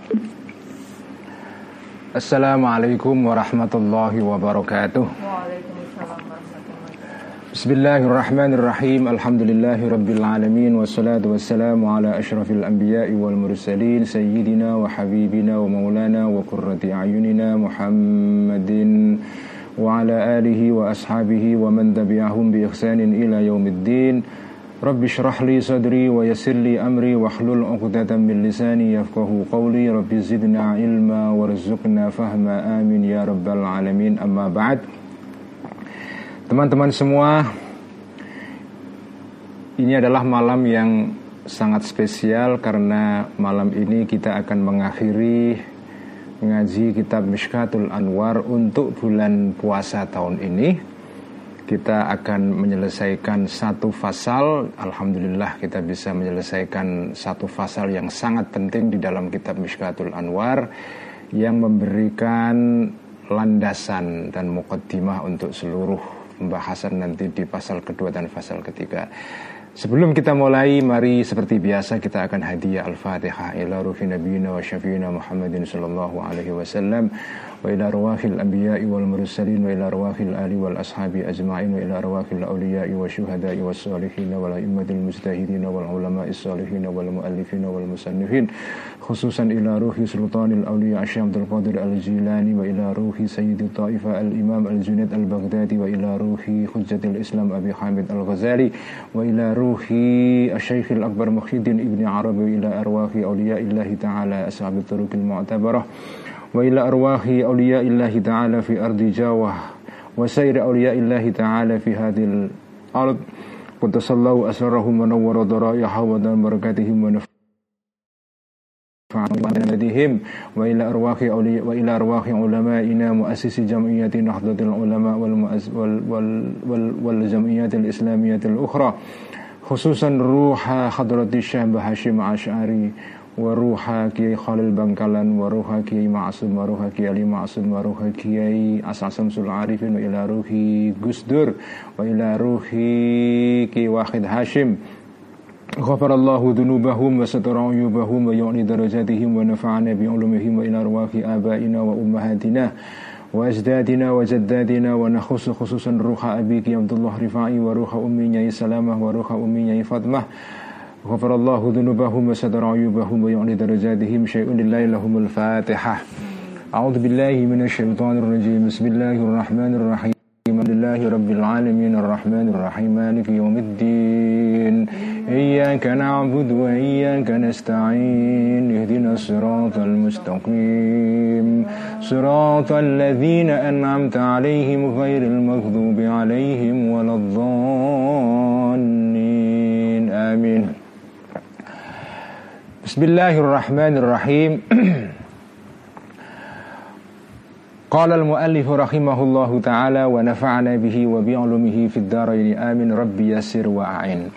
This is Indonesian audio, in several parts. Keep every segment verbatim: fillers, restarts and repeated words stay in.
Assalamualaikum warahmatullahi wabarakatuh. Waalaikumsalam warahmatullahi wabarakatuh. Bismillahirrahmanirrahim. Alhamdulillahi rabbil alamin. Wassalatu wassalamu ala asyrafil anbiya'i wal mursalin sayyidina wa habibina wa maulana wa qurrati a'yunina Muhammadin wa ala alihi wa ashabihi wa man tabi'ahum bi ihsanin ila yaumiddin. Rabbi shrah li sadri wa yassir li amri wahlul 'uqdatam min lisani yafqahu qawli. Rabbi zidna ilma warzuqna fahma, amin ya rabbal alamin. Amma ba'd. Teman-teman semua, ini adalah malam yang sangat spesial karena malam ini kita akan mengakhiri ngaji kitab Mishkatul Anwar untuk bulan puasa tahun ini. Kita akan menyelesaikan satu fasal. Alhamdulillah kita bisa menyelesaikan satu fasal yang sangat penting di dalam kitab Mishkatul Anwar, yang memberikan landasan dan muqaddimah untuk seluruh pembahasan nanti di pasal kedua dan pasal ketiga. Sebelum kita mulai, mari seperti biasa kita akan hadiah Al-Fatihah ila ruhi nabiyina wa syafiina Muhammadin sallallahu alaihi wasallam, wa ila arwahil anbiya'i wal mursalin, wa ila arwahil ali wal ashabi ajma'in, wa ila arwahil awliya'i wa syuhada'i was salihin wal a'immatil mujtahidin wal ulama'is salihin wal muallifin wal musannifin, khususan ila ruhi sultanil awliya' Syekh Abdul Qadir Al-Jilani, wa ila ruhi sayyidi ta'ifah al-imam al-Junaid al-Baghdadi, wa ila ruhi hujjatil Islam Abi Hamid Al-Ghazali, wa ila ruhi Asy-Syaikh Al-Akbar Muhyiddin Ibni Arabi, ila arwahi awliya'illahi ta'ala ashabit turuqil mu'tabarah, wa ila arwahi awliya'illahi ta'ala fi ardi Jawah wa sayri awliya'illahi ta'ala fi hadhil ard. Quddasallahu asrarahum wa nawwara daraihahum wa dan barakatihim wa nafa'ahum wa ila arwahi awliya wa ila arwahi ulama'ina muassisi jam'iyyati Nahdlatul Ulama wal wal wal wal jam'iyyatil islamiyyatil ukhra, khususan ruha hadrati Syekh Hashim Asy'ari wa ruha Kiai Khalil Bangkalan wa ruha Kiai Ma'sum wa ruha Kiai Ali Ma'sum wa ruha Kiai As-Samsul Arifin wa ila ruhi Gusdur wa ila ruhi Kiai Wahid Hashim. Ghafarallahu dhunubahum wa satara uyubahum wa yu'li darajatihim wa nafa'ana bi ulumihim wa ila arwahi abaina wa ummahatina wa ajdadina wa jaddadina, wa nakhusu khususan ruha abiki Abdullah Rifai wa ruha ummi Nyai Salamah wa ruha ummi Nyai Fatmah. Ghafarallahu dhunubahum wa satara uyubahum wa yu'li darajatihim. Syai'un lillahi lahumul Fatihah. A'udzu billahi minasyaitonir rajim. Bismillahirrahmanirrahim. Alhamdulillahi rabbil alamin arrahmanir rahim maliki yaumiddin. Iyyaka na'budu wa iyyaka nasta'in. Ihdinas siratal mustaqim. Siratal ladzina an'amta 'alaihim ghairil maghdubi 'alaihim waladdallin. Amin. Bismillahirrahmanirrahim. Qala al-muallif rahimahullahu ta'ala wa nafa'ana bihi wa bi'ulumihi fid dharain amin. Rabbi yassir wa a'in.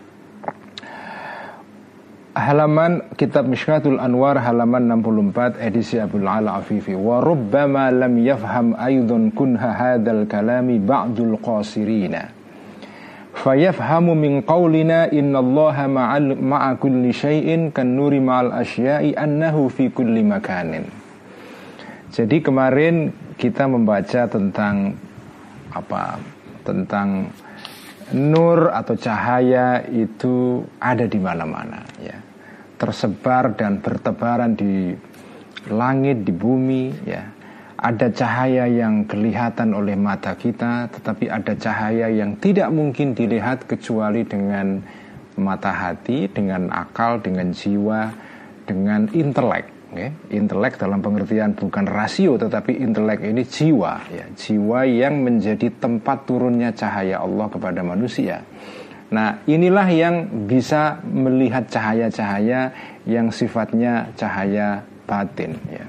Halaman kitab Mishkatul Anwar halaman enam puluh empat edisi Abdul Ala Afifi. Wa rubbama lam yafham aydun kunha hadzal kalami ba'dul qasirina fayafhamu min qawlina innallaha ma'al ma'a kulli syai'in kan nuri ma'al asya'i annahu fi kulli makanin. Jadi kemarin kita membaca tentang apa? Tentang nur atau cahaya itu ada di mana-mana, ya. Tersebar dan bertebaran di langit, di bumi, ya. Ada cahaya yang kelihatan oleh mata kita, tetapi ada cahaya yang tidak mungkin dilihat kecuali dengan mata hati, dengan akal, dengan jiwa, dengan intelek. Okay. Intelek dalam pengertian bukan rasio, tetapi intelek ini jiwa, ya, jiwa yang menjadi tempat turunnya cahaya Allah kepada manusia. Nah, inilah yang bisa melihat cahaya-cahaya yang sifatnya cahaya batin, ya.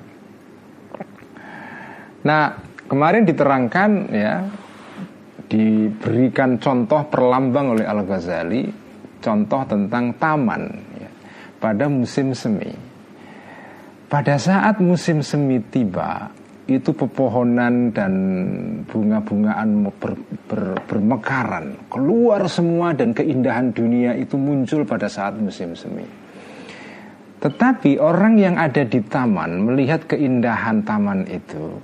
Nah, kemarin diterangkan, ya, diberikan contoh perlambang oleh Al-Ghazali, contoh tentang taman, ya, pada musim semi. Pada saat musim semi tiba, itu pepohonan dan bunga-bungaan ber, ber, bermekaran, keluar semua, dan keindahan dunia itu muncul pada saat musim semi. Tetapi orang yang ada di taman melihat keindahan taman itu.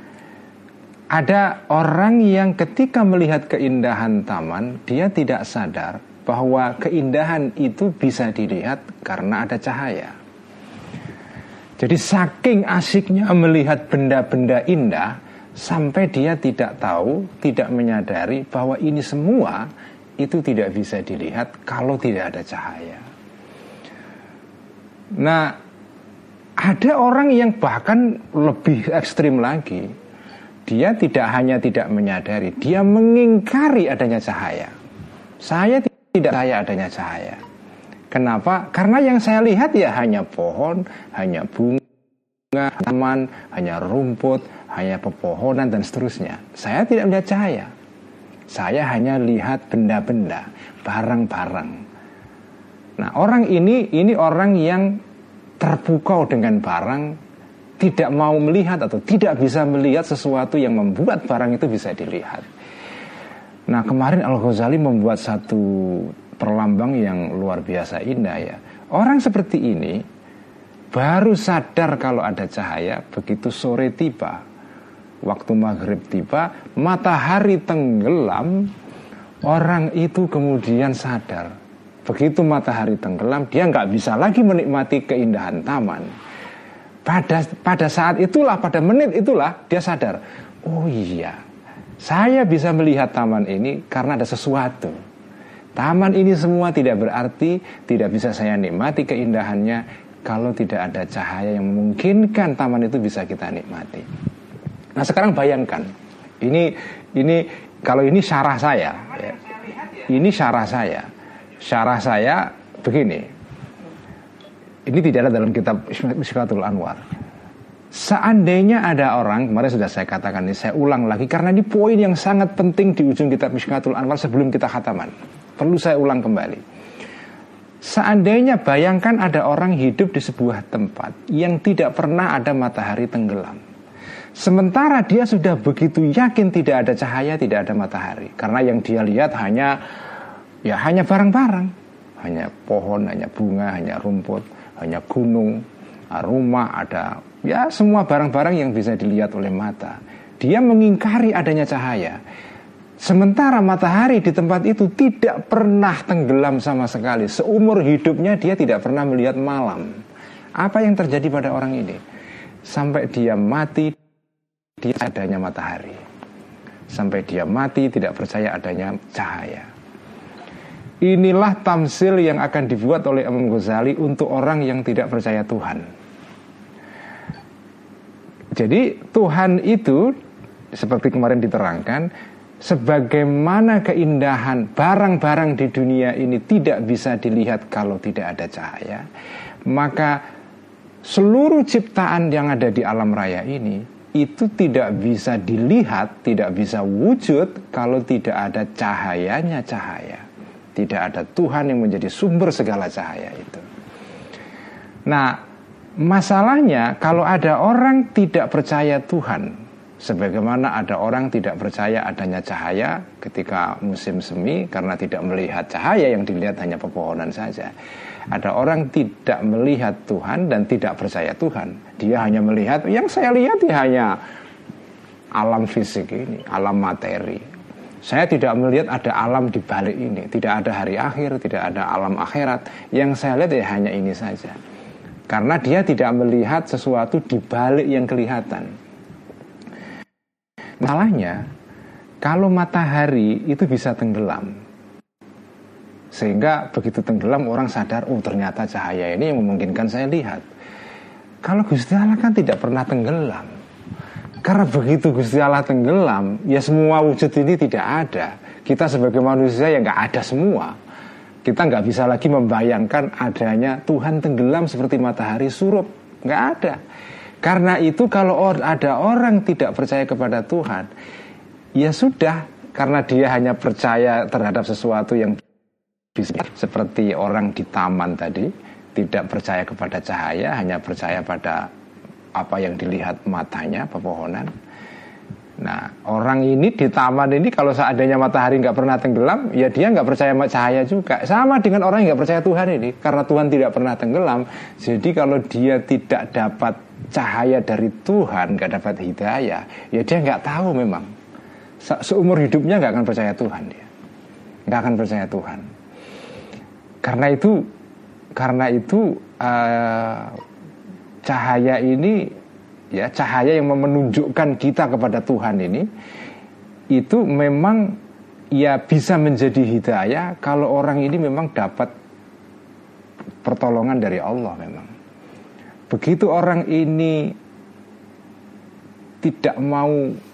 Ada orang yang ketika melihat keindahan taman, dia tidak sadar bahwa keindahan itu bisa dilihat karena ada cahaya. Jadi saking asiknya melihat benda-benda indah, sampai dia tidak tahu, tidak menyadari bahwa ini semua itu tidak bisa dilihat kalau tidak ada cahaya. Nah, ada orang yang bahkan lebih ekstrim lagi. Dia tidak hanya tidak menyadari, dia mengingkari adanya cahaya. Saya tidak percaya adanya cahaya. Kenapa? Karena yang saya lihat ya hanya pohon, hanya bunga, taman, hanya rumput, hanya pepohonan dan seterusnya. Saya tidak melihat cahaya. Saya hanya lihat benda-benda, barang-barang. Nah, orang ini ini orang yang terpukau dengan barang, tidak mau melihat atau tidak bisa melihat sesuatu yang membuat barang itu bisa dilihat. Nah, kemarin Al-Ghazali membuat satu perlambang yang luar biasa indah ya. Orang seperti ini baru sadar kalau ada cahaya begitu sore tiba, waktu maghrib tiba, matahari tenggelam, orang itu kemudian sadar. Begitu matahari tenggelam, dia nggak bisa lagi menikmati keindahan taman. Pada pada saat itulah, pada menit itulah dia sadar, oh iya, saya bisa melihat taman ini karena ada sesuatu. Taman ini semua tidak berarti, tidak bisa saya nikmati keindahannya kalau tidak ada cahaya yang memungkinkan taman itu bisa kita nikmati. Nah, sekarang bayangkan, ini ini kalau ini syarah saya, ya, ini syarah saya, syarah saya begini. Ini tidak ada dalam kitab Mishkatul Anwar. Seandainya ada orang, kemarin sudah saya katakan ini, saya ulang lagi karena ini poin yang sangat penting di ujung kitab Mishkatul Anwar sebelum kita khataman. Perlu saya ulang kembali. Seandainya bayangkan ada orang hidup di sebuah tempat yang tidak pernah ada matahari tenggelam. Sementara dia sudah begitu yakin tidak ada cahaya, tidak ada matahari. Karena yang dia lihat hanya ya hanya barang-barang, hanya pohon, hanya bunga, hanya rumput, hanya gunung, rumah, ada ya semua barang-barang yang bisa dilihat oleh mata. Dia mengingkari adanya cahaya. Sementara matahari di tempat itu tidak pernah tenggelam sama sekali. Seumur hidupnya dia tidak pernah melihat malam. Apa yang terjadi pada orang ini? Sampai dia mati, dia adanya matahari. Sampai dia mati tidak percaya adanya cahaya. Inilah tamsil yang akan dibuat oleh Imam Ghazali untuk orang yang tidak percaya Tuhan. Jadi Tuhan itu seperti kemarin diterangkan, sebagaimana keindahan barang-barang di dunia ini tidak bisa dilihat kalau tidak ada cahaya, maka seluruh ciptaan yang ada di alam raya ini itu tidak bisa dilihat, tidak bisa wujud kalau tidak ada cahayanya cahaya. Tidak ada Tuhan yang menjadi sumber segala cahaya itu. Nah, masalahnya kalau ada orang tidak percaya Tuhan, sebagaimana ada orang tidak percaya adanya cahaya ketika musim semi karena tidak melihat cahaya, yang dilihat hanya pepohonan saja. Ada orang tidak melihat Tuhan dan tidak percaya Tuhan. Dia hanya melihat, yang saya lihat ya hanya alam fisik ini, alam materi. Saya tidak melihat ada alam di balik ini, tidak ada hari akhir, tidak ada alam akhirat. Yang saya lihat ya hanya ini saja. Karena dia tidak melihat sesuatu di balik yang kelihatan. Masalahnya, kalau matahari itu bisa tenggelam, sehingga begitu tenggelam orang sadar, oh ternyata cahaya ini yang memungkinkan saya lihat. Kalau Gusti Allah kan tidak pernah tenggelam. Karena begitu Gusti Allah tenggelam, ya semua wujud ini tidak ada. Kita sebagai manusia ya nggak ada semua. Kita nggak bisa lagi membayangkan adanya Tuhan tenggelam seperti matahari surup, nggak ada. Karena itu kalau ada orang tidak percaya kepada Tuhan, ya sudah, karena dia hanya percaya terhadap sesuatu yang bisa, seperti orang di taman tadi, tidak percaya kepada cahaya, hanya percaya pada apa yang dilihat matanya, pepohonan. Nah, orang ini di taman ini kalau seandainya matahari nggak pernah tenggelam, ya dia nggak percaya cahaya juga. Sama dengan orang yang nggak percaya Tuhan ini, karena Tuhan tidak pernah tenggelam. Jadi kalau dia tidak dapat cahaya dari Tuhan, nggak dapat hidayah, ya dia nggak tahu memang. Se- Seumur hidupnya nggak akan percaya Tuhan dia, nggak akan percaya Tuhan. Karena itu, karena itu uh, cahaya ini. Ya, cahaya yang menunjukkan kita kepada Tuhan ini itu memang ya bisa menjadi hidayah kalau orang ini memang dapat pertolongan dari Allah memang. Begitu orang ini tidak mau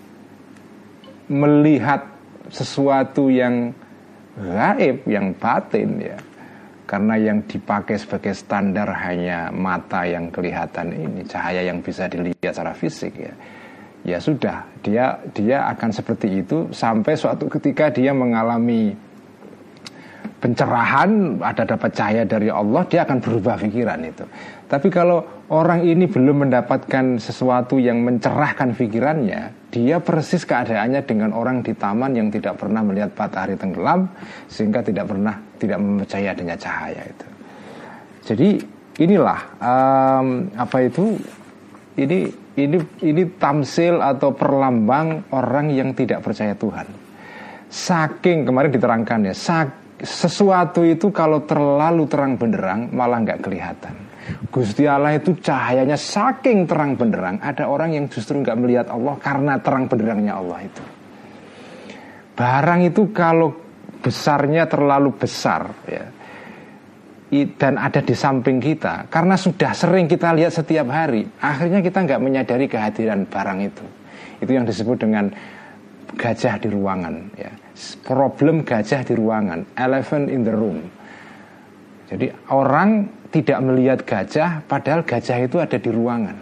melihat sesuatu yang gaib, yang batin ya. Karena yang dipakai sebagai standar hanya mata yang kelihatan ini, cahaya yang bisa dilihat secara fisik ya. Ya sudah, dia dia akan seperti itu sampai suatu ketika dia mengalami pencerahan, ada dapat cahaya dari Allah, dia akan berubah pikiran itu. Tapi kalau orang ini belum mendapatkan sesuatu yang mencerahkan pikirannya, dia persis keadaannya dengan orang di taman yang tidak pernah melihat matahari tenggelam, sehingga tidak pernah tidak mempercayai adanya cahaya itu. Jadi inilah um, apa itu ini ini ini tamsil atau perlambang orang yang tidak percaya Tuhan. Saking kemarin diterangkan ya, saking sesuatu itu kalau terlalu terang benderang malah nggak kelihatan. Gusti Allah itu cahayanya saking terang benderang, ada orang yang justru nggak melihat Allah karena terang benderangnya Allah itu. Barang itu kalau besarnya terlalu besar ya, dan ada di samping kita, karena sudah sering kita lihat setiap hari, akhirnya kita nggak menyadari kehadiran barang itu. Itu yang disebut dengan gajah di ruangan ya. Problem gajah di ruangan, elephant in the room. Jadi orang tidak melihat gajah, padahal gajah itu ada di ruangan.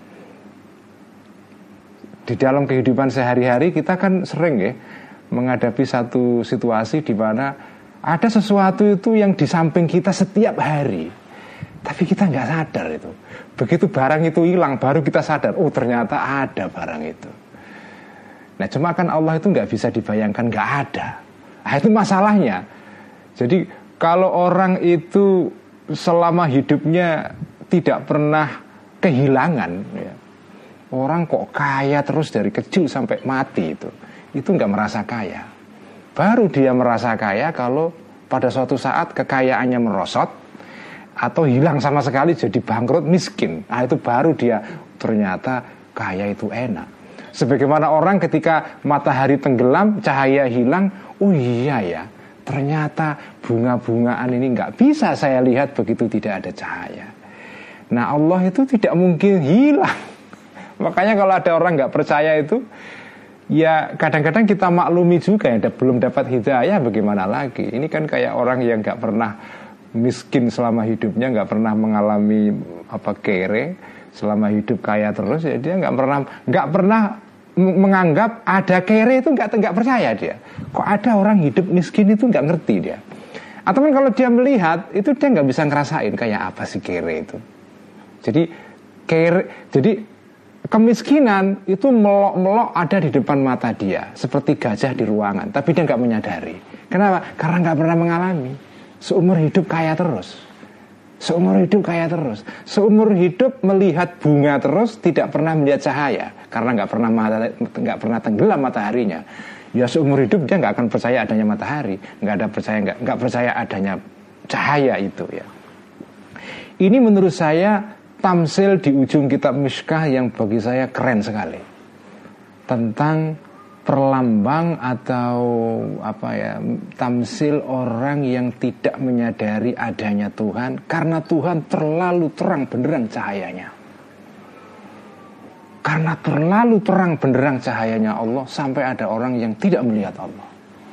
Di dalam kehidupan sehari-hari kita kan sering ya menghadapi satu situasi di mana ada sesuatu itu yang di samping kita setiap hari, tapi kita nggak sadar itu. Begitu barang itu hilang, baru kita sadar, oh ternyata ada barang itu. Nah cuma kan Allah itu nggak bisa dibayangkan nggak ada. Nah itu masalahnya. Jadi kalau orang itu selama hidupnya tidak pernah kehilangan ya, orang kok kaya terus dari kecil sampai mati itu, itu nggak merasa kaya. Baru dia merasa kaya kalau pada suatu saat kekayaannya merosot atau hilang sama sekali jadi bangkrut miskin. Nah itu baru dia ternyata kaya itu enak. Sebagaimana orang ketika matahari tenggelam, cahaya hilang, oh iya ya, ternyata bunga-bungaan ini nggak bisa saya lihat begitu tidak ada cahaya. Nah Allah itu tidak mungkin hilang. Makanya kalau ada orang nggak percaya itu, ya kadang-kadang kita maklumi juga ya, belum dapat hidayah bagaimana lagi. Ini kan kayak orang yang nggak pernah miskin selama hidupnya, nggak pernah mengalami apa kere, selama hidup kaya terus ya dia nggak pernah nggak pernah menganggap ada kere itu nggak nggak percaya dia. Kok ada orang hidup miskin itu nggak ngerti dia. Atau kan kalau dia melihat itu dia nggak bisa ngerasain kayak apa sih kere itu. Jadi kere jadi kemiskinan itu melok-melok ada di depan mata dia seperti gajah di ruangan, tapi dia nggak menyadari. Kenapa? Karena nggak pernah mengalami. Seumur hidup kaya terus. Seumur hidup kaya terus. Seumur hidup melihat bunga terus, tidak pernah melihat cahaya karena nggak pernah nggak pernah tenggelam mataharinya. Ya seumur hidup dia nggak akan percaya adanya matahari, nggak ada percaya nggak nggak percaya adanya cahaya itu ya. Ini menurut saya tamsil di ujung kitab Mishkah yang bagi saya keren sekali tentang perlambang atau apa ya, tamsil orang yang tidak menyadari adanya Tuhan karena Tuhan terlalu terang benderang cahayanya. Karena terlalu terang benderang cahayanya Allah sampai ada orang yang tidak melihat Allah.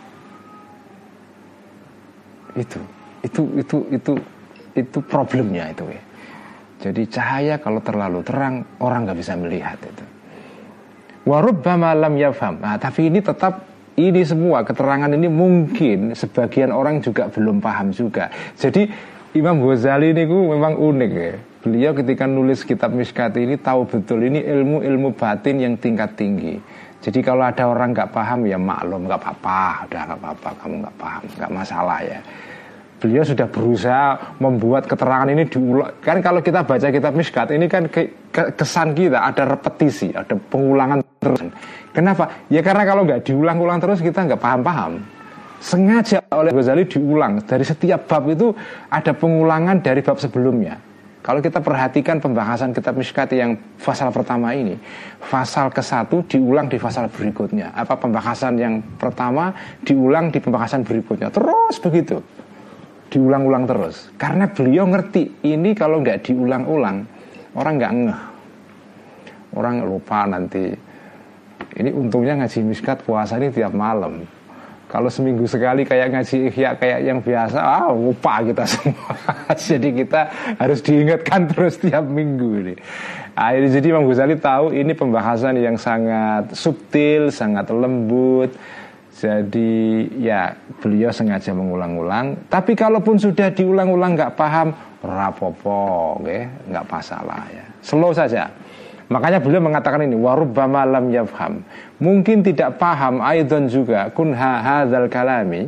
Itu, itu, itu, itu, itu problemnya itu ya. Jadi cahaya kalau terlalu terang orang nggak bisa melihat itu. Warubbama lam yafham. Nah, tapi ini tetap ini semua keterangan ini mungkin sebagian orang juga belum paham juga. Jadi Imam Ghazali ini memang unik ya. Beliau ketika nulis kitab Mishkat ini tahu betul ini ilmu-ilmu batin yang tingkat tinggi. Jadi kalau ada orang nggak paham ya maklum, nggak apa-apa, udah nggak apa-apa, kamu nggak paham, nggak masalah ya. Beliau sudah berusaha membuat keterangan ini diulang. Kan kalau kita baca kitab Mishkat ini kan ke, ke, kesan kita ada repetisi, ada pengulangan terus. Kenapa? Ya karena kalau nggak diulang-ulang terus kita nggak paham-paham. Sengaja oleh Ghazali diulang. Dari setiap bab itu ada pengulangan dari bab sebelumnya. Kalau kita perhatikan pembahasan kitab Mishkat yang pasal pertama ini, pasal ke satu diulang di pasal berikutnya. Apa pembahasan yang pertama diulang di pembahasan berikutnya. Terus begitu. Diulang-ulang terus. Karena beliau ngerti ini kalau nggak diulang-ulang orang nggak ngeh. Orang lupa nanti. Ini untungnya ngaji Mishkat puasa ini tiap malam. Kalau seminggu sekali kayak ngaji Ihya kayak yang biasa, ah lupa kita semua. Jadi kita harus diingatkan terus tiap minggu ini. Nah, jadi Imam Ghazali tahu ini pembahasan yang sangat subtil, sangat lembut. Jadi ya beliau sengaja mengulang-ulang. Tapi kalaupun sudah diulang-ulang nggak paham, rapopo, okay? Nggak masalah ya. Slow saja. Makanya beliau mengatakan ini warubbama lam yafham. Mungkin tidak paham aidan juga kunha hadzal kalami.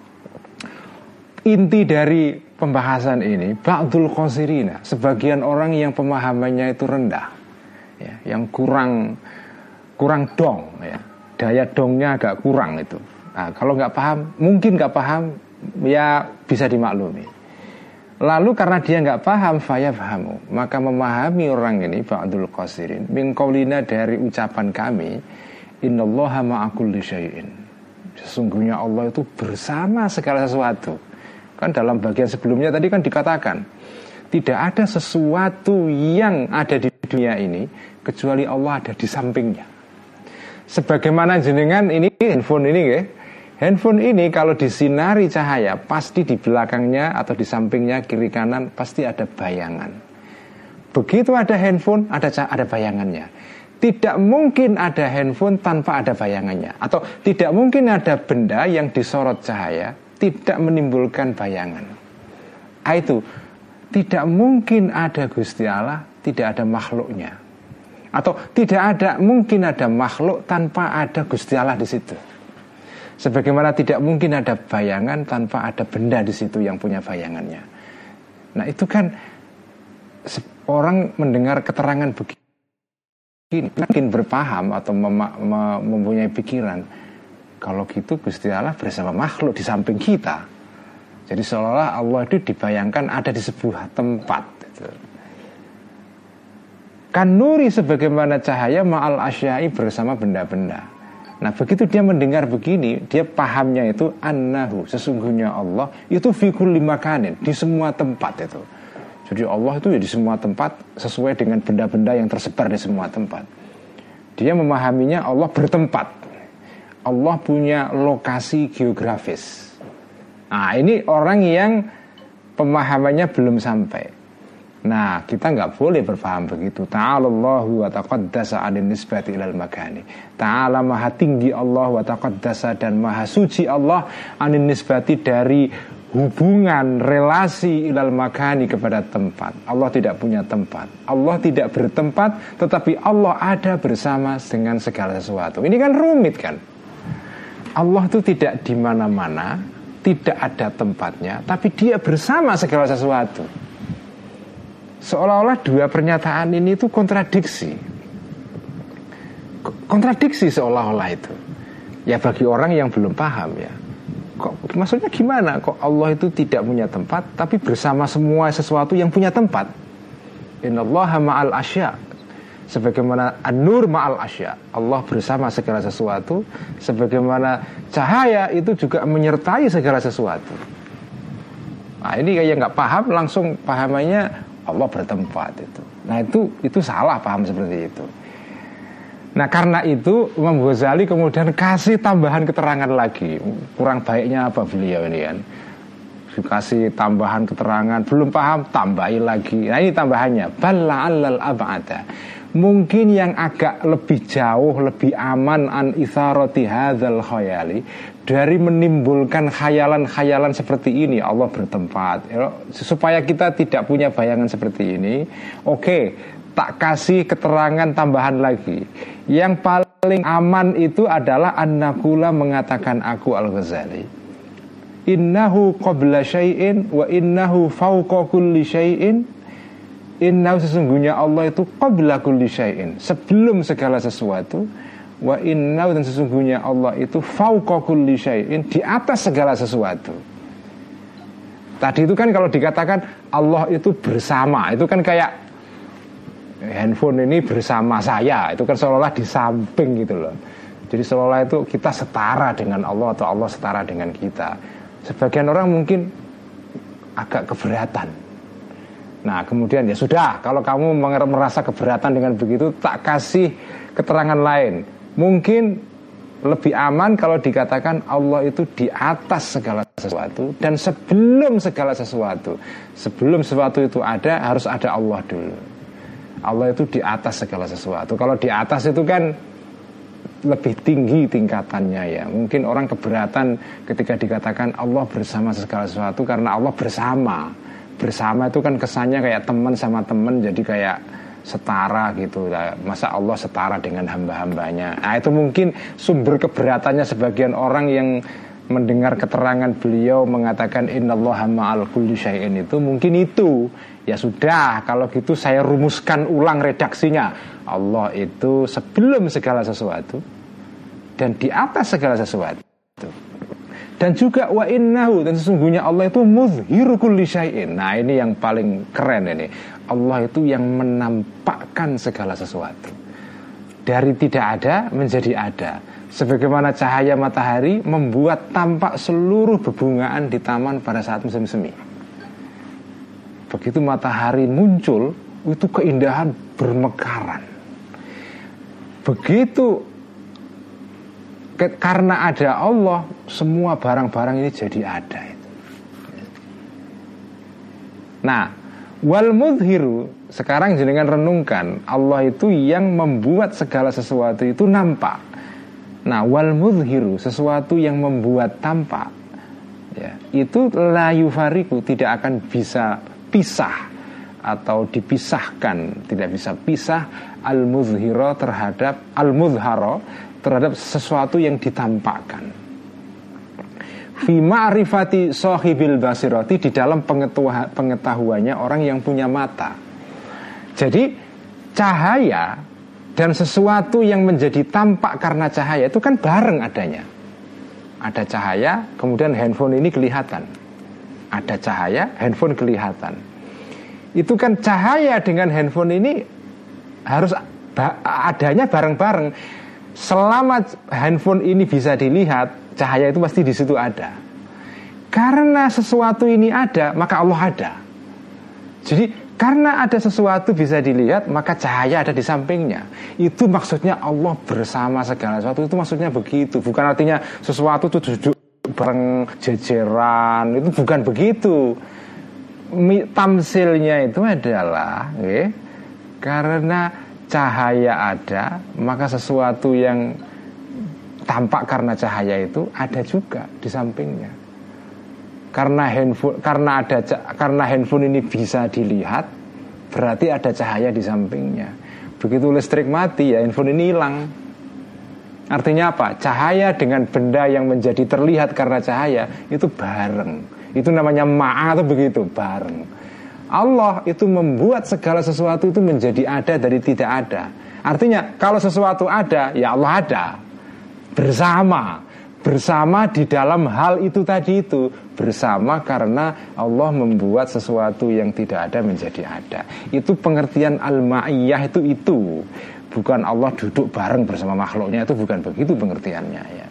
Inti dari pembahasan ini ba'dul qasirina, sebagian orang yang pemahamannya itu rendah. Ya, yang kurang kurang dong ya. Daya dongnya agak kurang itu. Nah, kalau nggak paham, mungkin nggak paham ya bisa dimaklumi. Lalu karena dia nggak paham fayafhamu, maka memahami orang ini ba'dul qasirin min qaulina, dari ucapan kami innallaha ma'a kulli syai'in, sesungguhnya Allah itu bersama segala sesuatu. Kan dalam bagian sebelumnya tadi kan dikatakan tidak ada sesuatu yang ada di dunia ini kecuali Allah ada di sampingnya. Sebagaimana jenengan ini handphone ini ya, handphone ini kalau disinari cahaya pasti di belakangnya atau di sampingnya kiri kanan pasti ada bayangan. Begitu ada handphone ada ada bayangannya. Tidak mungkin ada handphone tanpa ada bayangannya. Atau tidak mungkin ada benda yang disorot cahaya tidak menimbulkan bayangan. Ah, itu tidak mungkin ada Gusti Allah tidak ada makhluknya. Atau tidak ada mungkin ada makhluk tanpa ada Gusti Allah di situ. Sebagaimana tidak mungkin ada bayangan tanpa ada benda di situ yang punya bayangannya. Nah itu kan orang mendengar keterangan begini mungkin berpaham atau mem- mem- mempunyai pikiran kalau gitu Gusti Allah bersama makhluk di samping kita. Jadi seolah-olah Allah itu dibayangkan ada di sebuah tempat gitu. Kan nuri sebagaimana cahaya ma'al asyai bersama benda-benda. Nah begitu dia mendengar begini, dia pahamnya itu annahu, sesungguhnya Allah itu fi kulli makanin, di semua tempat itu. Jadi Allah itu ya di semua tempat sesuai dengan benda-benda yang tersebar di semua tempat. Dia memahaminya Allah bertempat. Allah punya lokasi geografis. Nah ini orang yang pemahamannya belum sampai. Nah kita nggak boleh berpaham begitu. Ta'alallahu wa taqaddasa 'anil nisbati ilal makani. Ta'ala maha tinggi Allah wa taqaddasa dan maha suci Allah 'anil nisbati dari hubungan relasi ilal makani kepada tempat. Allah tidak punya tempat. Allah tidak bertempat, tetapi Allah ada bersama dengan segala sesuatu. Ini kan rumit kan? Allah itu tidak di mana-mana, tidak ada tempatnya, tapi dia bersama segala sesuatu. Seolah-olah dua pernyataan ini itu kontradiksi. Kontradiksi seolah-olah itu. Ya bagi orang yang belum paham ya. Kok maksudnya gimana? Kok Allah itu tidak punya tempat tapi bersama semua sesuatu yang punya tempat? Innallaha ma'al asya. Sebagaimana an-nur ma'al asya. Allah bersama segala sesuatu. Sebagaimana cahaya itu juga menyertai segala sesuatu. Nah ini kayak nggak paham langsung pahamannya Allah bertempat itu. Nah itu itu salah paham seperti itu. Nah karena itu Imam Ghazali kemudian kasih tambahan keterangan lagi. Kurang baiknya apa beliau ini kan? Kasih tambahan keterangan, belum paham tambahi lagi. Nah ini tambahannya balla alal ab'ada. Mungkin yang agak lebih jauh, lebih aman an itharati hadzal khayali, dari menimbulkan khayalan-khayalan seperti ini Allah bertempat. Supaya kita tidak punya bayangan seperti ini, oke, tak kasih keterangan tambahan lagi. Yang paling paling aman itu adalah an-naqula mengatakan aku Al-Ghazali, innahu qabla syai'in wa innahu fawqa kulli syai'in. Innahu sesungguhnya Allah itu qabla kulli syai'in, sebelum segala sesuatu. Wa innahu dan sesungguhnya Allah itu fawqa kulli syai'in, di atas segala sesuatu. Tadi itu kan kalau dikatakan Allah itu bersama, itu kan kayak handphone ini bersama saya, itu kan seolah-olah di samping gitu loh. Jadi seolah-olah itu kita setara dengan Allah atau Allah setara dengan kita. Sebagian orang mungkin agak keberatan. Nah kemudian ya sudah, kalau kamu merasa keberatan dengan begitu, tak kasih keterangan lain. Mungkin lebih aman kalau dikatakan Allah itu di atas segala sesuatu, dan sebelum segala sesuatu, sebelum sesuatu itu ada, harus ada Allah dulu. Allah itu di atas segala sesuatu. Kalau di atas itu kan lebih tinggi tingkatannya ya. Mungkin orang keberatan ketika dikatakan Allah bersama segala sesuatu, karena Allah bersama. Bersama itu kan kesannya kayak teman sama teman, jadi kayak setara gitu. Masa Allah setara dengan hamba-hambanya? Nah itu mungkin sumber keberatannya sebagian orang yang mendengar keterangan beliau mengatakan innallaha ma'al kulli syai'in, itu mungkin itu. Ya sudah, kalau gitu saya rumuskan ulang redaksinya. Allah itu sebelum segala sesuatu dan di atas segala sesuatu. Dan juga wa innahu, dan sesungguhnya Allah itu muzhiru kulli syai'in. Nah ini yang paling keren ini. Allah itu yang menampakkan segala sesuatu. Dari tidak ada menjadi ada. Sebagaimana cahaya matahari membuat tampak seluruh bebungaan di taman pada saat musim semi. Begitu matahari muncul, itu keindahan bermekaran. Begitu ke, karena ada Allah, semua barang-barang ini jadi ada. Nah, wal mudhiru, sekarang jenengan renungkan, Allah itu yang membuat segala sesuatu itu nampak. Nah, wal mudhiru, sesuatu yang membuat tampak, ya, itu la yufariku, tidak akan bisa pisah atau dipisahkan, tidak bisa pisah al-muzhira terhadap al-muzhara terhadap sesuatu yang ditampakkan. Fi ma'rifati sahibil basirati, di dalam pengetahuannya orang yang punya mata. Jadi cahaya dan sesuatu yang menjadi tampak karena cahaya itu kan bareng adanya. Ada cahaya, kemudian handphone ini kelihatan. Ada cahaya, handphone kelihatan. Itu kan cahaya dengan handphone ini harus adanya bareng-bareng. Selama handphone ini bisa dilihat, cahaya itu pasti di situ ada. Karena sesuatu ini ada, maka Allah ada. Jadi karena ada sesuatu bisa dilihat, maka cahaya ada di sampingnya. Itu maksudnya Allah bersama segala sesuatu. Itu maksudnya begitu. Bukan artinya sesuatu itu duduk bareng jejeran, itu bukan begitu. Tamsilnya itu adalah okay, karena cahaya ada, maka sesuatu yang tampak karena cahaya itu ada juga di sampingnya. Karena handphone, karena ada karena handphone ini bisa dilihat, berarti ada cahaya di sampingnya. Begitu listrik mati, ya handphone ini hilang. Artinya apa? Cahaya dengan benda yang menjadi terlihat karena cahaya itu bareng. Itu namanya ma'a, atau begitu, bareng. Allah itu membuat segala sesuatu itu menjadi ada dari tidak ada. Artinya kalau sesuatu ada, ya Allah ada. Bersama. Bersama di dalam hal itu tadi itu. Bersama karena Allah membuat sesuatu yang tidak ada menjadi ada. Itu pengertian al-ma'iyah itu itu. Bukan Allah duduk bareng bersama makhluknya, itu bukan begitu pengertiannya ya.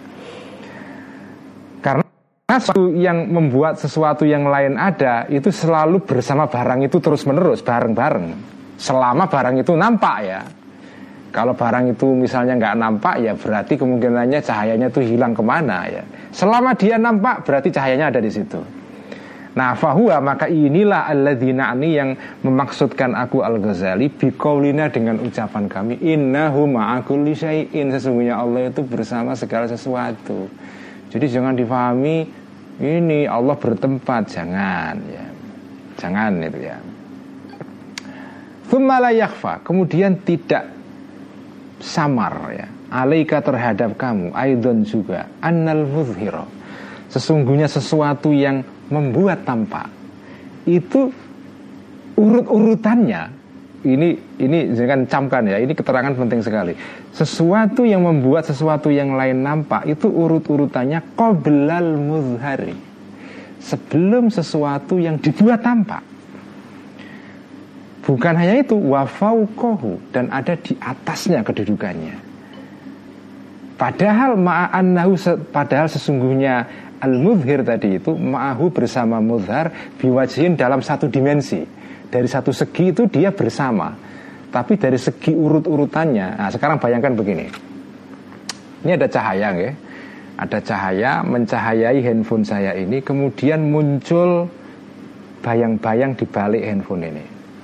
Karena sesuatu yang membuat sesuatu yang lain ada itu selalu bersama barang itu terus menerus, bareng-bareng. Selama barang itu nampak ya. Kalau barang itu misalnya nggak nampak, ya berarti kemungkinannya cahayanya itu hilang kemana ya. Selama dia nampak berarti cahayanya ada di situ. Nah, fahuwa, maka inilah alladzina ani yang memaksudkan aku Al-Ghazali biqaulina dengan ucapan kami innahu ma'a kulli syai'in, sesungguhnya Allah itu bersama segala sesuatu. Jadi jangan difahami ini Allah bertempat, jangan ya. Jangan itu ya. Tsumma la yakhfa, kemudian tidak samar ya, alaika terhadap kamu, aidon juga, annal muzhira, sesungguhnya sesuatu yang membuat tampak itu urut-urutannya. Ini ini jangan camkan ya, ini keterangan penting sekali. Sesuatu yang membuat sesuatu yang lain nampak itu urut-urutannya qoblal muzhari, sebelum sesuatu yang dibuat tampak. Bukan hanya itu, wa fauqahu, dan ada di atasnya kedudukannya. Padahal ma'annahu, padahal sesungguhnya al-muzhir tadi itu ma'ahu bersama muzhar biwajhin dalam satu dimensi. Dari satu segi itu dia bersama, tapi dari segi urut-urutannya. Nah sekarang bayangkan begini, ini ada cahaya ya, ada cahaya mencahayai handphone saya ini, kemudian muncul bayang-bayang di balik handphone ini.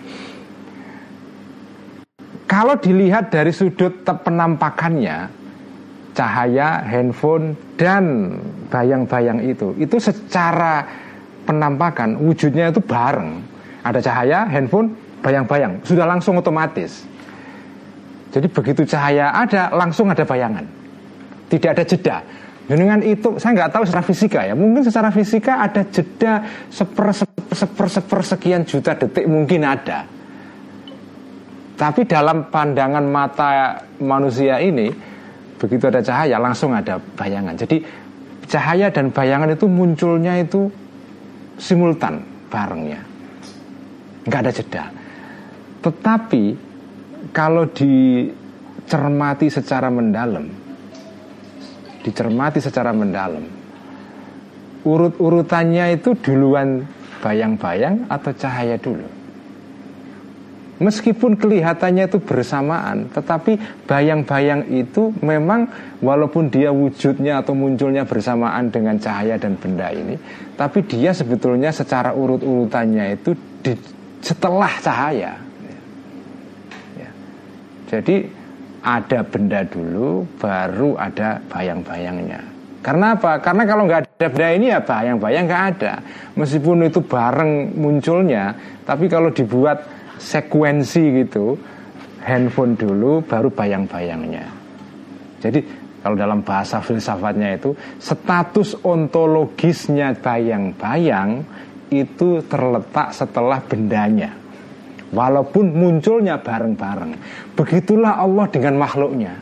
Kalau dilihat dari sudut penampakannya, cahaya, handphone, dan bayang-bayang itu, itu secara penampakan wujudnya itu bareng. Ada cahaya, handphone, bayang-bayang, sudah langsung otomatis. Jadi begitu cahaya ada, langsung ada bayangan, tidak ada jeda. Dengan itu, saya nggak tahu secara fisika ya, mungkin secara fisika ada jeda seper, seper, seper, seper sekian juta detik, mungkin ada. Tapi dalam pandangan mata manusia ini, begitu ada cahaya, langsung ada bayangan. Jadi cahaya dan bayangan itu munculnya itu simultan, barengnya, nggak ada jeda. Tetapi kalau dicermati secara mendalam, dicermati secara mendalam, urut-urutannya itu duluan bayang-bayang atau cahaya dulu. Meskipun kelihatannya itu bersamaan, tetapi bayang-bayang itu memang walaupun dia wujudnya atau munculnya bersamaan dengan cahaya dan benda ini, tapi dia sebetulnya secara urut-urutannya itu di, setelah cahaya ya. Jadi ada benda dulu, baru ada bayang-bayangnya. Karena apa? Karena kalau nggak ada benda ini ya bayang-bayang nggak ada. Meskipun itu bareng munculnya, tapi kalau dibuat sekuensi gitu, handphone dulu baru bayang-bayangnya. Jadi kalau dalam bahasa filsafatnya itu, status ontologisnya bayang-bayang itu terletak setelah bendanya, walaupun munculnya bareng-bareng. Begitulah Allah dengan makhluknya.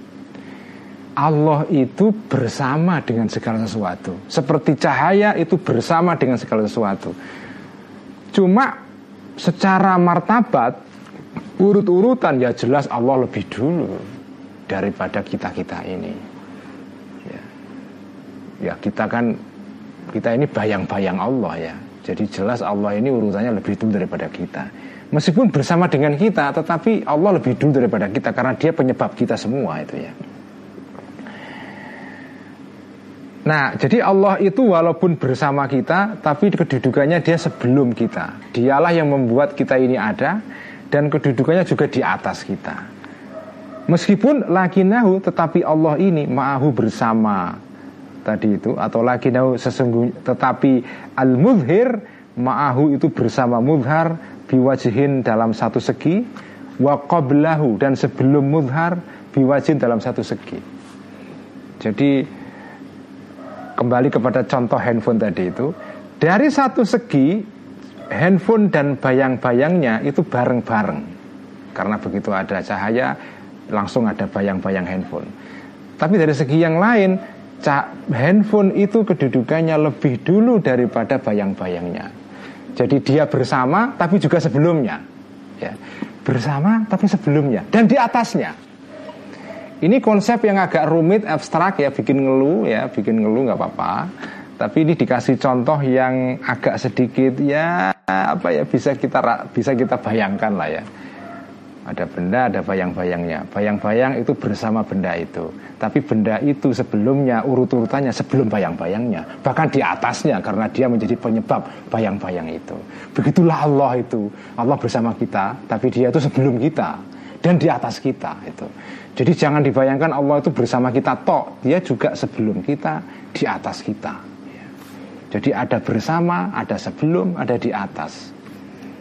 Allah itu bersama dengan segala sesuatu, seperti cahaya itu bersama dengan segala sesuatu. Cuma secara martabat, urut-urutan ya jelas Allah lebih dulu daripada kita-kita ini ya. Ya kita kan, kita ini bayang-bayang Allah ya. Jadi jelas Allah ini urutannya lebih dulu daripada kita. Meskipun bersama dengan kita, tetapi Allah lebih dulu daripada kita, karena dia penyebab kita semua itu ya. Nah, jadi Allah itu walaupun bersama kita, tapi kedudukannya dia sebelum kita. Dialah yang membuat kita ini ada, dan kedudukannya juga di atas kita. Meskipun lakinahu, tetapi Allah ini ma'ahu bersama tadi itu, atau lakinahu sesungguhnya, tetapi al-muzhir ma'ahu itu bersama muzhar biwajhin dalam satu segi, wa qablahu, dan sebelum muzhar biwajhin dalam satu segi. Jadi kembali kepada contoh handphone tadi itu, dari satu segi handphone dan bayang-bayangnya itu bareng-bareng, karena begitu ada cahaya langsung ada bayang-bayang handphone. Tapi dari segi yang lain, handphone itu kedudukannya lebih dulu daripada bayang-bayangnya. Jadi dia bersama tapi juga sebelumnya ya. Bersama tapi sebelumnya dan di atasnya. Ini konsep yang agak rumit, abstrak ya, bikin ngeluh ya, bikin ngeluh nggak apa-apa. Tapi ini dikasih contoh yang agak sedikit ya apa ya, bisa kita bisa kita bayangkan lah ya. Ada benda, ada bayang-bayangnya. Bayang-bayang itu bersama benda itu. Tapi benda itu sebelumnya urut-urutannya sebelum bayang-bayangnya, bahkan di atasnya, karena dia menjadi penyebab bayang-bayang itu. Begitulah Allah itu. Allah bersama kita, tapi dia itu sebelum kita dan di atas kita itu. Jadi jangan dibayangkan Allah itu bersama kita tok, dia juga sebelum kita, di atas kita. Jadi ada bersama, ada sebelum, ada di atas.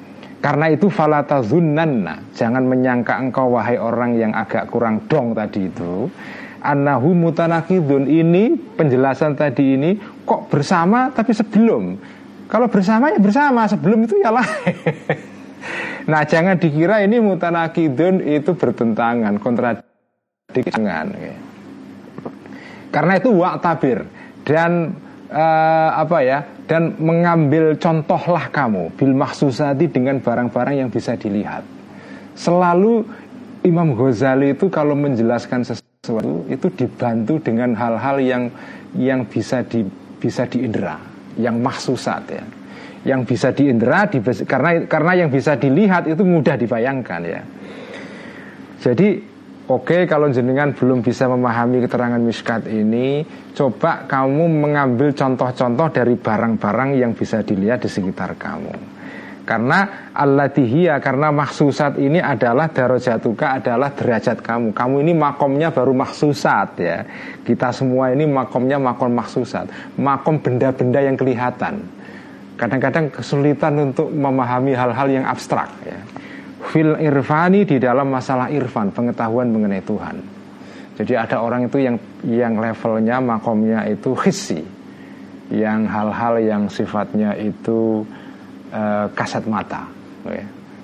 Karena itu fala tazunnanna, jangan menyangka engkau wahai orang yang agak kurang dong tadi itu, annahu mutanakidun, ini penjelasan tadi ini kok bersama tapi sebelum. Kalau bersama ya bersama, sebelum itu ya lain. Nah, jangan dikira ini mutanakidun itu bertentangan, kontradiksi, jangan. Karena itu wa'tabir, dan uh, apa ya? Dan mengambil contohlah kamu bil mahsusati, dengan barang-barang yang bisa dilihat. Selalu Imam Ghazali itu kalau menjelaskan sesuatu itu dibantu dengan hal-hal yang yang bisa di bisa diindra, yang mahsusat ya. Yang bisa diindra di, karena karena yang bisa dilihat itu mudah dibayangkan ya. Jadi oke, kalau jenengan belum bisa memahami keterangan miskat ini, coba kamu mengambil contoh-contoh dari barang-barang yang bisa dilihat di sekitar kamu. Karena alladihiyya, karena mahsusat ini adalah darajatuka, adalah derajat kamu. Kamu ini makomnya baru mahsusat ya. Kita semua ini makomnya makom mahsusat, makom benda-benda yang kelihatan. Kadang-kadang kesulitan untuk memahami hal-hal yang abstrak ya. Fil irfani, di dalam masalah irfan, pengetahuan mengenai Tuhan. Jadi ada orang itu yang yang levelnya makomnya itu hissi, yang hal-hal yang sifatnya itu uh, kasat mata. Okay.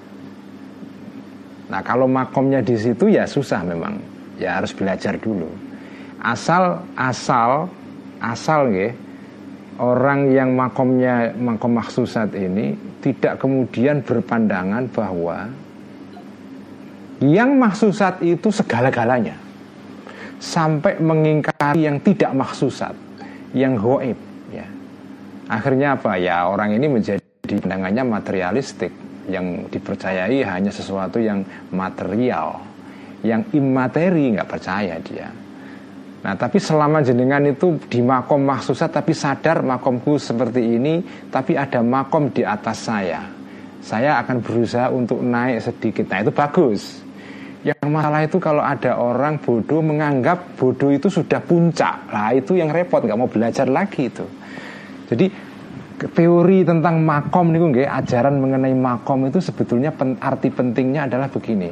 Nah, kalau makomnya di situ ya susah memang, ya harus belajar dulu. Asal asal asal ya, orang yang makomnya makom mahsusat ini tidak kemudian berpandangan bahwa yang mahsusat itu segala-galanya, sampai mengingkari yang tidak mahsusat, yang ghaib ya. Akhirnya apa ya, orang ini menjadi pandangannya materialistik, yang dipercayai hanya sesuatu yang material, yang imateri nggak percaya dia. Nah, tapi selama jenengan itu di makom mahsusat tapi sadar makomku seperti ini, tapi ada makom di atas saya, saya akan berusaha untuk naik sedikit. Nah, itu bagus. Yang masalah itu kalau ada orang bodoh menganggap bodoh itu sudah puncak. Lah itu yang repot, nggak mau belajar lagi itu. Jadi teori tentang makom nih, nggih, ajaran mengenai makom itu sebetulnya pen, arti pentingnya adalah begini.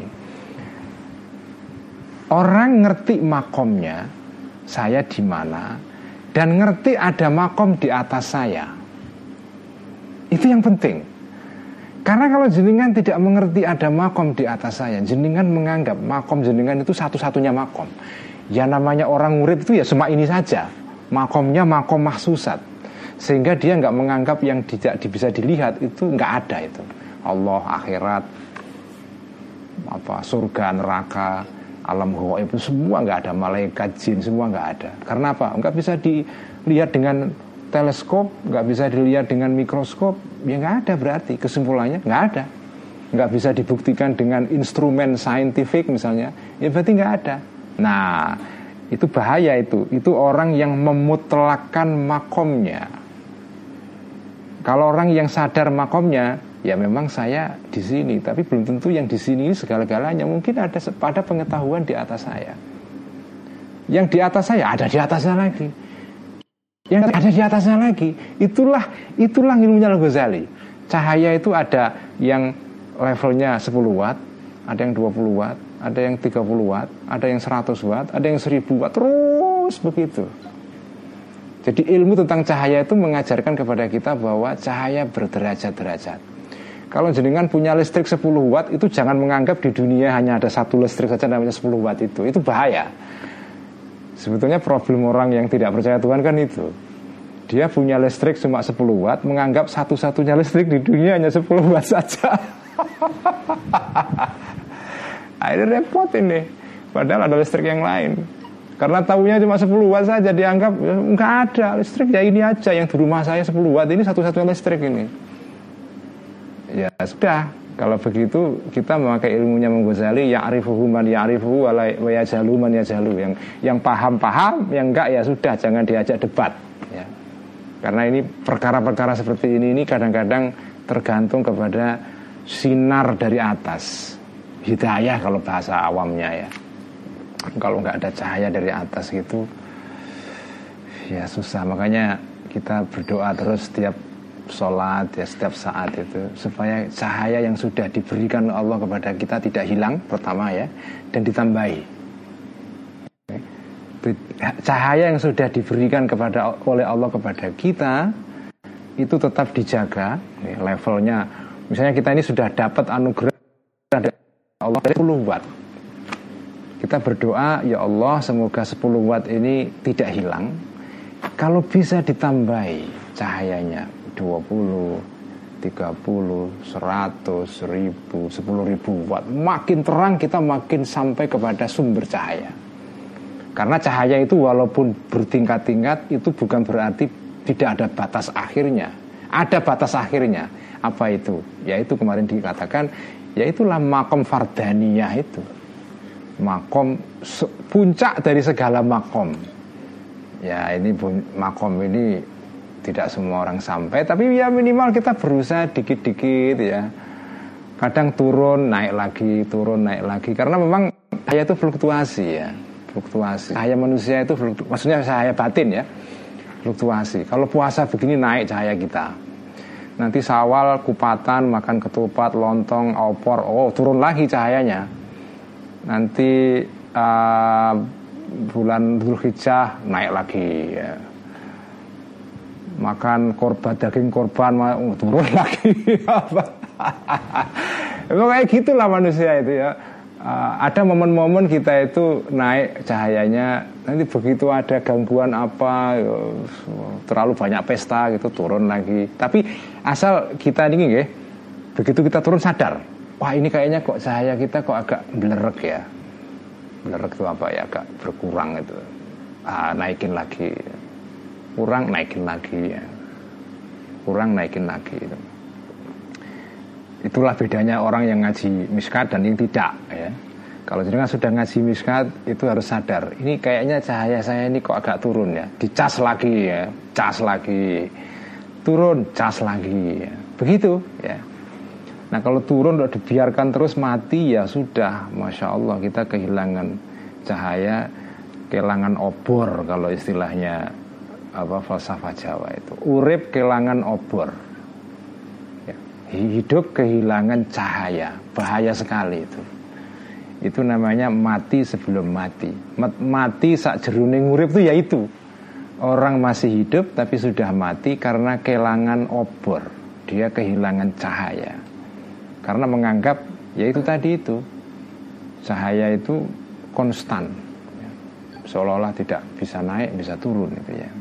Orang ngerti makomnya, saya di mana, dan ngerti ada makom di atas saya. Itu yang penting. Karena kalau jenengan tidak mengerti ada makom di atas saya, jenengan menganggap makom jenengan itu satu-satunya makom. Ya namanya orang murid itu ya cuma ini saja, makomnya makom mahsusat, sehingga dia nggak menganggap yang tidak bisa dilihat itu nggak ada itu. Allah, akhirat, apa surga, neraka, alam ghaib itu semua nggak ada, malaikat, jin semua nggak ada. Karena apa? Nggak bisa dilihat dengan teleskop, nggak bisa dilihat dengan mikroskop, ya nggak ada, berarti kesimpulannya nggak ada. Nggak bisa dibuktikan dengan instrumen saintifik misalnya, ya berarti nggak ada. Nah, itu bahaya itu. Itu orang yang memutlakkan makomnya. Kalau orang yang sadar makomnya, ya memang saya di sini, tapi belum tentu yang di sini segala-galanya. Mungkin ada pada pengetahuan di atas saya. Yang di atas saya ada di atasnya lagi. Yang ada di atasnya lagi, itulah itulah ilmunya Al-Ghazali. Cahaya itu ada yang levelnya sepuluh watt, ada yang dua puluh watt, ada yang tiga puluh watt, ada yang seratus watt, ada yang seribu watt, terus begitu. Jadi ilmu tentang cahaya itu mengajarkan kepada kita bahwa cahaya berderajat-derajat. Kalau jenengan punya listrik sepuluh watt, itu jangan menganggap di dunia hanya ada satu listrik saja namanya sepuluh watt itu. Itu bahaya. Sebetulnya problem orang yang tidak percaya Tuhan kan itu. Dia punya listrik cuma sepuluh watt, menganggap satu-satunya listrik di dunia hanya sepuluh watt saja. Akhirnya repot ini. Padahal ada listrik yang lain. Karena tahunya cuma sepuluh watt saja, dianggap enggak ada listrik, ya ini aja yang di rumah saya sepuluh watt, ini satu-satunya listrik ini. Ya sudah. Kalau begitu kita memakai ilmunya Imam Ghazali, ya'rifuhu man ya'rifuhu wa yajalu man yajalu. Yang yang paham-paham, yang enggak ya sudah, jangan diajak debat ya. Karena ini perkara-perkara seperti ini ini kadang-kadang tergantung kepada sinar dari atas. Hidayah kalau bahasa awamnya ya. Kalau enggak ada cahaya dari atas gitu, ya susah. Makanya kita berdoa terus setiap sholat ya setiap saat itu, supaya cahaya yang sudah diberikan Allah kepada kita tidak hilang pertama ya, dan ditambahi. Cahaya yang sudah diberikan kepada oleh Allah kepada kita itu tetap dijaga ya, levelnya. Misalnya kita ini sudah dapat anugerah dari Allah dari sepuluh watt. Kita berdoa, ya Allah semoga sepuluh watt ini tidak hilang. Kalau bisa ditambahi cahayanya dua puluh, tiga puluh, seratus, seribu, sepuluh ribu watt, makin terang kita makin sampai kepada sumber cahaya. Karena cahaya itu walaupun bertingkat-tingkat itu bukan berarti tidak ada batas akhirnya. Ada batas akhirnya. Apa itu? Yaitu kemarin dikatakan, yaitulah makom fardaniyah itu. Makom puncak dari segala makom. Ya ini makom ini tidak semua orang sampai, tapi ya minimal kita berusaha dikit-dikit ya. Kadang turun naik lagi, turun naik lagi, karena memang cahaya itu fluktuasi ya, fluktuasi. Cahaya manusia itu fluktuasi, maksudnya cahaya batin ya, fluktuasi. Kalau puasa begini naik cahaya kita, nanti Syawal kupatan makan ketupat, lontong, opor, oh turun lagi cahayanya. Nanti uh, bulan Dzulhijjah naik lagi ya. Makan korban, daging korban oh, turun lagi. Emang kayak gitulah manusia itu ya. uh, Ada momen-momen kita itu naik cahayanya, nanti begitu ada gangguan apa ya, terlalu banyak pesta gitu turun lagi. Tapi asal kita ini ya, begitu kita turun sadar, wah ini kayaknya kok cahaya kita kok agak belerek ya. Belerek itu apa ya, agak berkurang itu, ah, naikin lagi, kurang naikin lagi ya, kurang naikin lagi itu. Itulah bedanya orang yang ngaji miskat dan yang tidak ya. Kalau jenengan sudah ngaji miskat itu harus sadar, ini kayaknya cahaya saya ini kok agak turun ya, dicas lagi ya, cas lagi, turun, cas lagi ya. Begitu ya. Nah kalau turun udah dibiarkan terus mati ya sudah, Masya Allah kita kehilangan cahaya, kehilangan obor kalau istilahnya apa falsafah Jawa itu. Urip kehilangan obor ya. Hidup kehilangan cahaya, bahaya sekali itu. Itu namanya mati sebelum mati. Mati sak jeruning urip itu ya itu. Orang masih hidup tapi sudah mati karena kehilangan obor. Dia kehilangan cahaya. Karena menganggap ya itu tadi itu, cahaya itu konstan ya. Seolah-olah tidak bisa naik, bisa turun itu ya.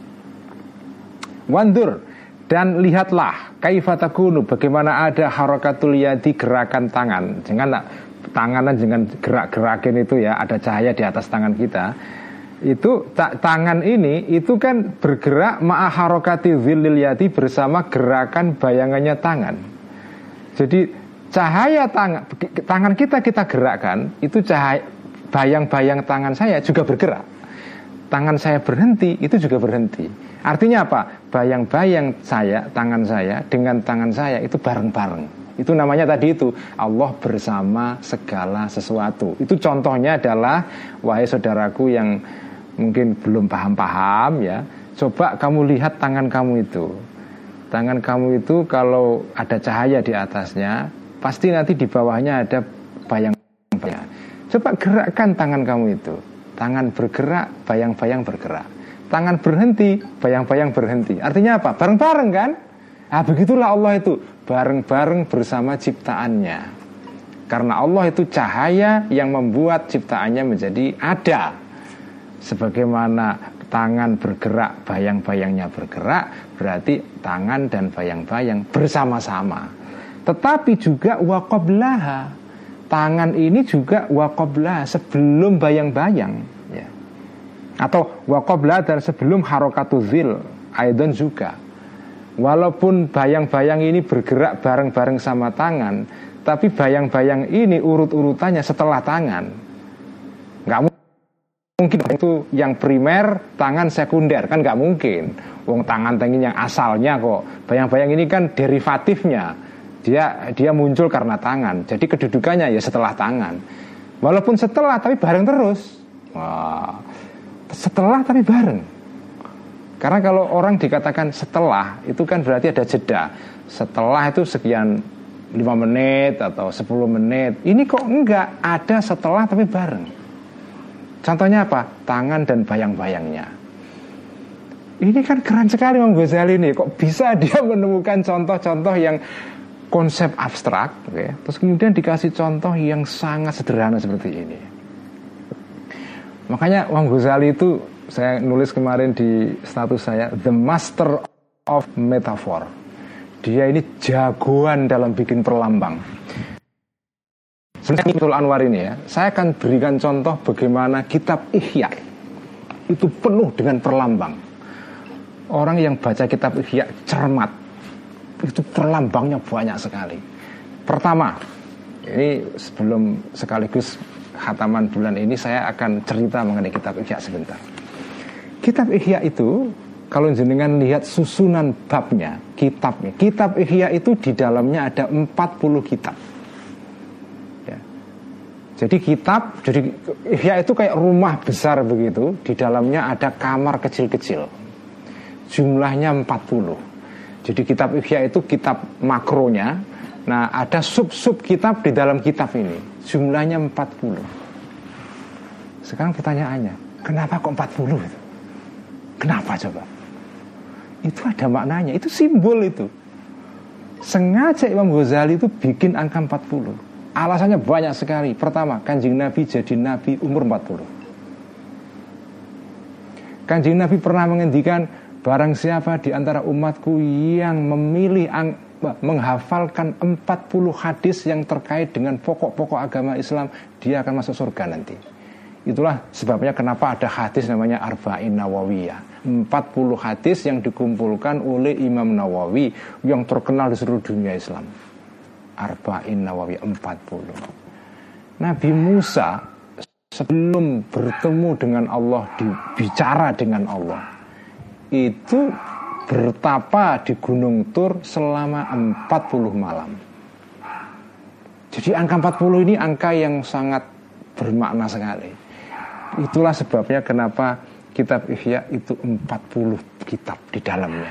Wandur, dan lihatlah kaifatakunu, bagaimana ada harakatul yadi, gerakan tangan. Jangan tanganan jangan gerak-gerakin itu ya, ada cahaya di atas tangan kita. Itu ta- tangan ini itu kan bergerak ma'a harakati zillil yadi, bersama gerakan bayangannya tangan. Jadi cahaya tangan tangan kita kita gerakkan, itu cahaya bayang-bayang tangan saya juga bergerak. Tangan saya berhenti, itu juga berhenti. Artinya apa? Bayang-bayang saya, tangan saya dengan tangan saya itu bareng-bareng. Itu namanya tadi itu Allah bersama segala sesuatu. Itu contohnya adalah, wahai saudaraku yang mungkin belum paham-paham ya, coba kamu lihat tangan kamu itu. Tangan kamu itu kalau ada cahaya di atasnya, pasti nanti di bawahnya ada bayang-bayang. Coba gerakkan tangan kamu itu. Tangan bergerak, bayang-bayang bergerak. Tangan berhenti, bayang-bayang berhenti. Artinya apa? Bareng-bareng kan? Nah begitulah Allah itu, bareng-bareng bersama ciptaannya. Karena Allah itu cahaya yang membuat ciptaannya menjadi ada. Sebagaimana tangan bergerak, bayang-bayangnya bergerak, berarti tangan dan bayang-bayang bersama-sama. Tetapi juga waqablaha, tangan ini juga waqablaha, sebelum bayang-bayang ya. Atau waqablaha, dan sebelum harakatu zil aidan juga. Walaupun bayang-bayang ini bergerak bareng-bareng sama tangan, tapi bayang-bayang ini urut-urutannya setelah tangan. Nggak mungkin itu yang primer, tangan sekunder, kan nggak mungkin. Wong tangan tengin yang asalnya kok. Bayang-bayang ini kan derivatifnya. Dia dia muncul karena tangan. Jadi kedudukannya ya setelah tangan. Walaupun setelah tapi bareng terus. Wah. Setelah tapi bareng. Karena kalau orang dikatakan setelah, itu kan berarti ada jeda. Setelah itu sekian lima menit atau sepuluh menit. Ini kok enggak, ada setelah tapi bareng. Contohnya apa? Tangan dan bayang-bayangnya. Ini kan keren sekali Imam Ghazali ini. Kok bisa dia menemukan contoh-contoh yang konsep abstrak, okay? Terus kemudian dikasih contoh yang sangat sederhana seperti ini. Makanya Imam Ghazali itu, saya nulis kemarin di status saya, the master of metaphor. Dia ini jagoan dalam bikin perlambang. Sebenarnya Betul Anwar ini ya, saya akan berikan contoh bagaimana kitab Ihya itu penuh dengan perlambang. Orang yang baca kitab Ihya cermat, itu perlambangnya banyak sekali. Pertama, ini sebelum sekaligus khataman bulan ini, saya akan cerita mengenai kitab Ihya sebentar. Kitab Ihya itu, kalau jenengan lihat susunan babnya, kitabnya, kitab Ihya itu di dalamnya ada empat puluh kitab. Ya. Jadi kitab, jadi Ihya itu kayak rumah besar begitu, di dalamnya ada kamar kecil-kecil. Jumlahnya empat puluh. Jadi kitab Ihya itu kitab makronya. Nah, ada sub-sub kitab di dalam kitab ini. Jumlahnya empat puluh. Sekarang pertanyaannya, kenapa kok empat puluh itu? Kenapa coba? Itu ada maknanya, itu simbol itu. Sengaja Imam Ghazali itu bikin angka empat puluh. Alasannya banyak sekali. Pertama, Kanjeng Nabi jadi Nabi umur empat puluh. Kanjeng Nabi pernah menghentikan, barang siapa di antara umatku yang memilih ang- menghafalkan empat puluh hadis yang terkait dengan pokok-pokok agama Islam, dia akan masuk surga nanti. Itulah sebabnya kenapa ada hadis namanya Arba'in Nawawiyah, empat puluh hadis yang dikumpulkan oleh Imam Nawawi yang terkenal di seluruh dunia Islam. Arba'in Nawawiyah, empat puluh. Nabi Musa sebelum bertemu dengan Allah, bicara dengan Allah, itu bertapa di Gunung Tur selama empat puluh malam. Jadi angka empat puluh ini angka yang sangat bermakna sekali. Itulah sebabnya kenapa kitab Ihya itu empat puluh kitab di dalamnya.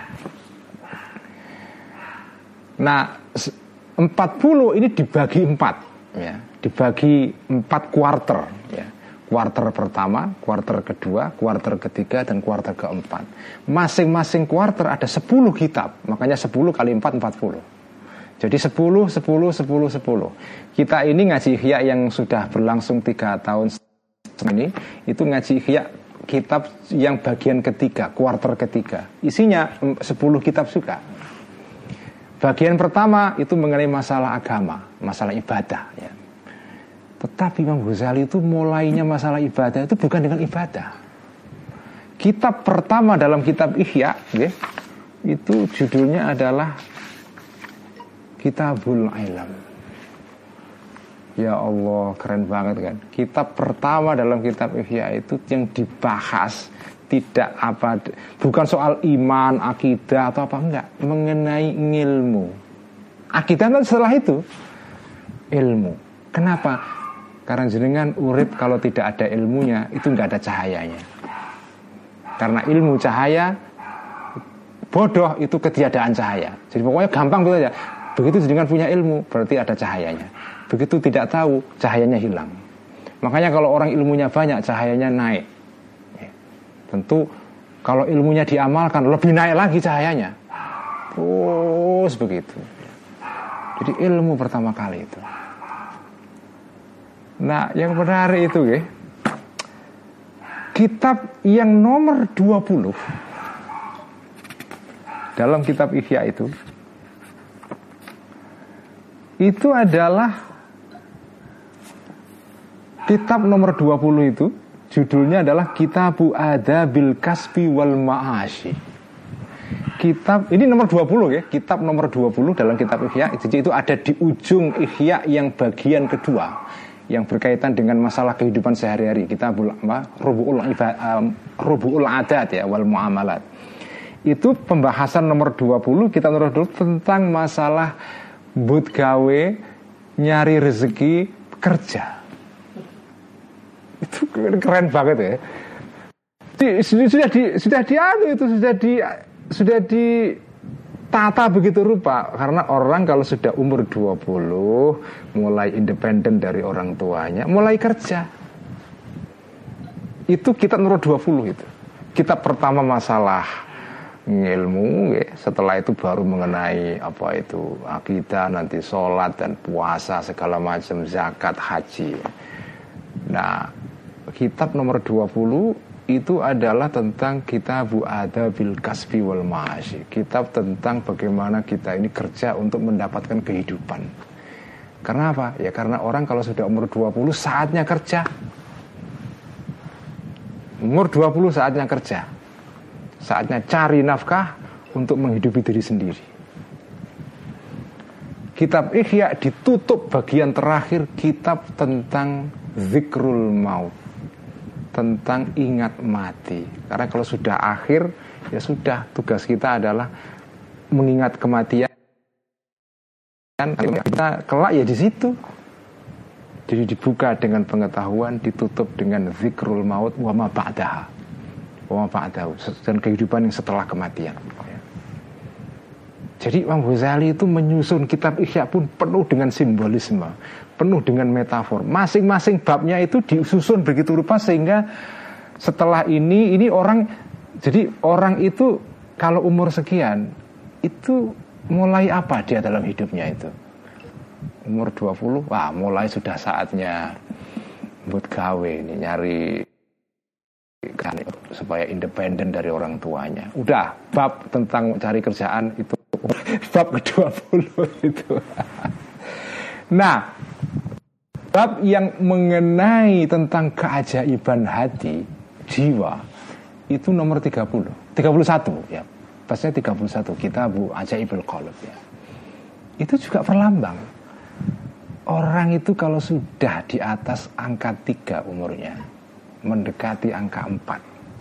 Nah, empat puluh ini dibagi empat, ya, dibagi empat kuarter, ya. Kuarter pertama, kuarter kedua, kuarter ketiga, dan kuarter keempat. Masing-masing kuarter ada sepuluh kitab. Makanya sepuluh kali empat, empat puluh. Jadi sepuluh, sepuluh, sepuluh, sepuluh. Kita ini ngaji Ihya yang sudah berlangsung tiga tahun ini, itu ngaji Ihya kitab yang bagian ketiga, kuarter ketiga. Isinya sepuluh kitab juga. Bagian pertama itu mengenai masalah agama, masalah ibadah, ya. Tetapi Imam Ghazali itu mulainya masalah ibadah itu bukan dengan ibadah. Kitab pertama dalam kitab Ihya, ya, itu judulnya adalah Kitabul Ilm. Ya Allah, keren banget kan. Kitab pertama dalam kitab Ihya itu yang dibahas tidak apa, bukan soal iman, akidah atau apa, enggak, mengenai ilmu. Akidah itu setelah itu ilmu. Kenapa? Karena jenengan urip kalau tidak ada ilmunya itu enggak ada cahayanya. Karena ilmu cahaya, bodoh itu ketiadaan cahaya. Jadi pokoknya gampang gitu aja. Begitu jenengan punya ilmu berarti ada cahayanya. Begitu tidak tahu, cahayanya hilang. Makanya kalau orang ilmunya banyak, cahayanya naik. Ya. Tentu kalau ilmunya diamalkan, lebih naik lagi cahayanya. Terus begitu. Jadi ilmu pertama kali itu. Nah, yang menarik itu ya, kitab yang nomor dua puluh dalam kitab Ihya itu, itu adalah kitab nomor dua puluh itu, judulnya adalah Kitabu Adabil Kasbi wal Ma'ashi. Kitab, ini nomor dua puluh ya, kitab nomor dua puluh dalam kitab Ihya. Jadi itu ada di ujung Ihya yang bagian kedua, yang berkaitan dengan masalah kehidupan sehari-hari. Kitabul Rubu'ul um, Rubu'ul Adat ya, wal Mu'amalat. Itu pembahasan nomor dua puluh, kitab nomor dua puluh tentang masalah but gawe, nyari rezeki, kerja. Itu keren banget ya. sudah di sudah dianu itu sudah di sudah ditata begitu rupa. Karena orang kalau sudah umur dua puluh mulai independen dari orang tuanya, mulai kerja. Itu kitab nomor dua puluh itu. Kitab pertama masalah ilmu, ya. Setelah itu baru mengenai apa itu akidah, nanti sholat dan puasa segala macam, zakat, haji. Nah, kitab nomor dua puluh itu adalah tentang Kitabu Adabil Kasbi wal Ma'ashi. Kitab tentang bagaimana kita ini kerja untuk mendapatkan kehidupan. Karena apa? Ya karena orang kalau sudah umur dua puluh saatnya kerja. Umur dua puluh saatnya kerja. Saatnya cari nafkah untuk menghidupi diri sendiri. Kitab Ihya ditutup bagian terakhir, kitab tentang zikrul maut, tentang ingat mati. Karena kalau sudah akhir, ya sudah, tugas kita adalah mengingat kematian. Kita kelak ya di situ. Jadi dibuka dengan pengetahuan, ditutup dengan zikrul maut wa ma ba'daha. Wa ma ba'dahu, dan kehidupan yang setelah kematian. Jadi Imam Ghazali itu menyusun kitab Ihya pun penuh dengan simbolisme, penuh dengan metafor. Masing-masing babnya itu disusun begitu rupa sehingga setelah ini ini orang, jadi orang itu kalau umur sekian itu mulai apa dia dalam hidupnya itu? Umur dua puluh, wah mulai sudah saatnya buat gawe ini, nyari kan, supaya independen dari orang tuanya. Udah, bab tentang cari kerjaan itu bab ke dua puluh itu. Nah, bab yang mengenai tentang keajaiban hati, jiwa, itu nomor tiga puluh, tiga puluh satu ya. Pasnya tiga puluh satu, Kitabu Ajaibul Qalb ya. Itu juga perlambang. Orang itu kalau sudah di atas angka tiga umurnya, mendekati angka empat,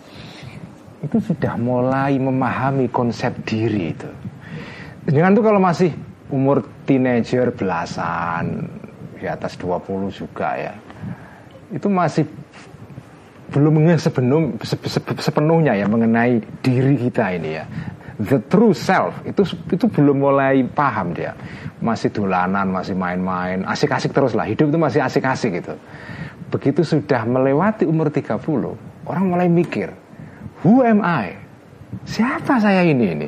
itu sudah mulai memahami konsep diri itu. Jangan tuh kalau masih umur teenager belasan, di atas dua puluh juga ya, itu masih belum sepenuh, sepenuhnya ya mengenai diri kita ini ya. The true self itu itu belum mulai paham dia, masih dolanan, masih main-main, asik-asik terus lah, hidup itu masih asik-asik gitu. Begitu sudah melewati umur tiga puluh, orang mulai mikir, who am I? Siapa saya ini ini?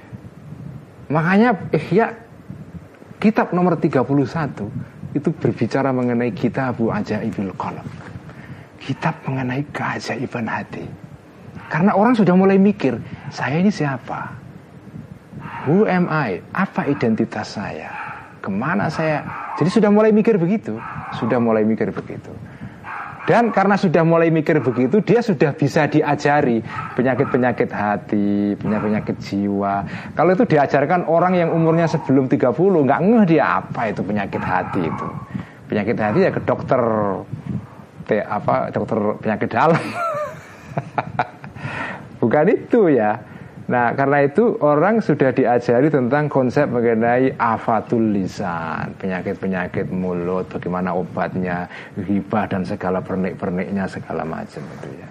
Makanya Ihya kitab nomor tiga puluh satu itu berbicara mengenai Kitabu Ajaibil Qalb, kitab mengenai keajaiban hati. Karena orang sudah mulai mikir, saya ini siapa? Who am I? Apa identitas saya? Kemana saya? Jadi sudah mulai mikir begitu. Sudah mulai mikir begitu. Dan karena sudah mulai mikir begitu, dia sudah bisa diajari penyakit-penyakit hati, penyakit-penyakit jiwa. Kalau itu diajarkan orang yang umurnya sebelum tiga puluh, nggak ngeh dia apa itu penyakit hati itu. Penyakit hati ya ke dokter, te, apa dokter penyakit dalam. Bukan itu ya. Nah karena itu orang sudah diajari tentang konsep mengenai afatul lisan, penyakit-penyakit mulut, bagaimana obatnya, ghibah dan segala pernik-perniknya segala macam itu ya.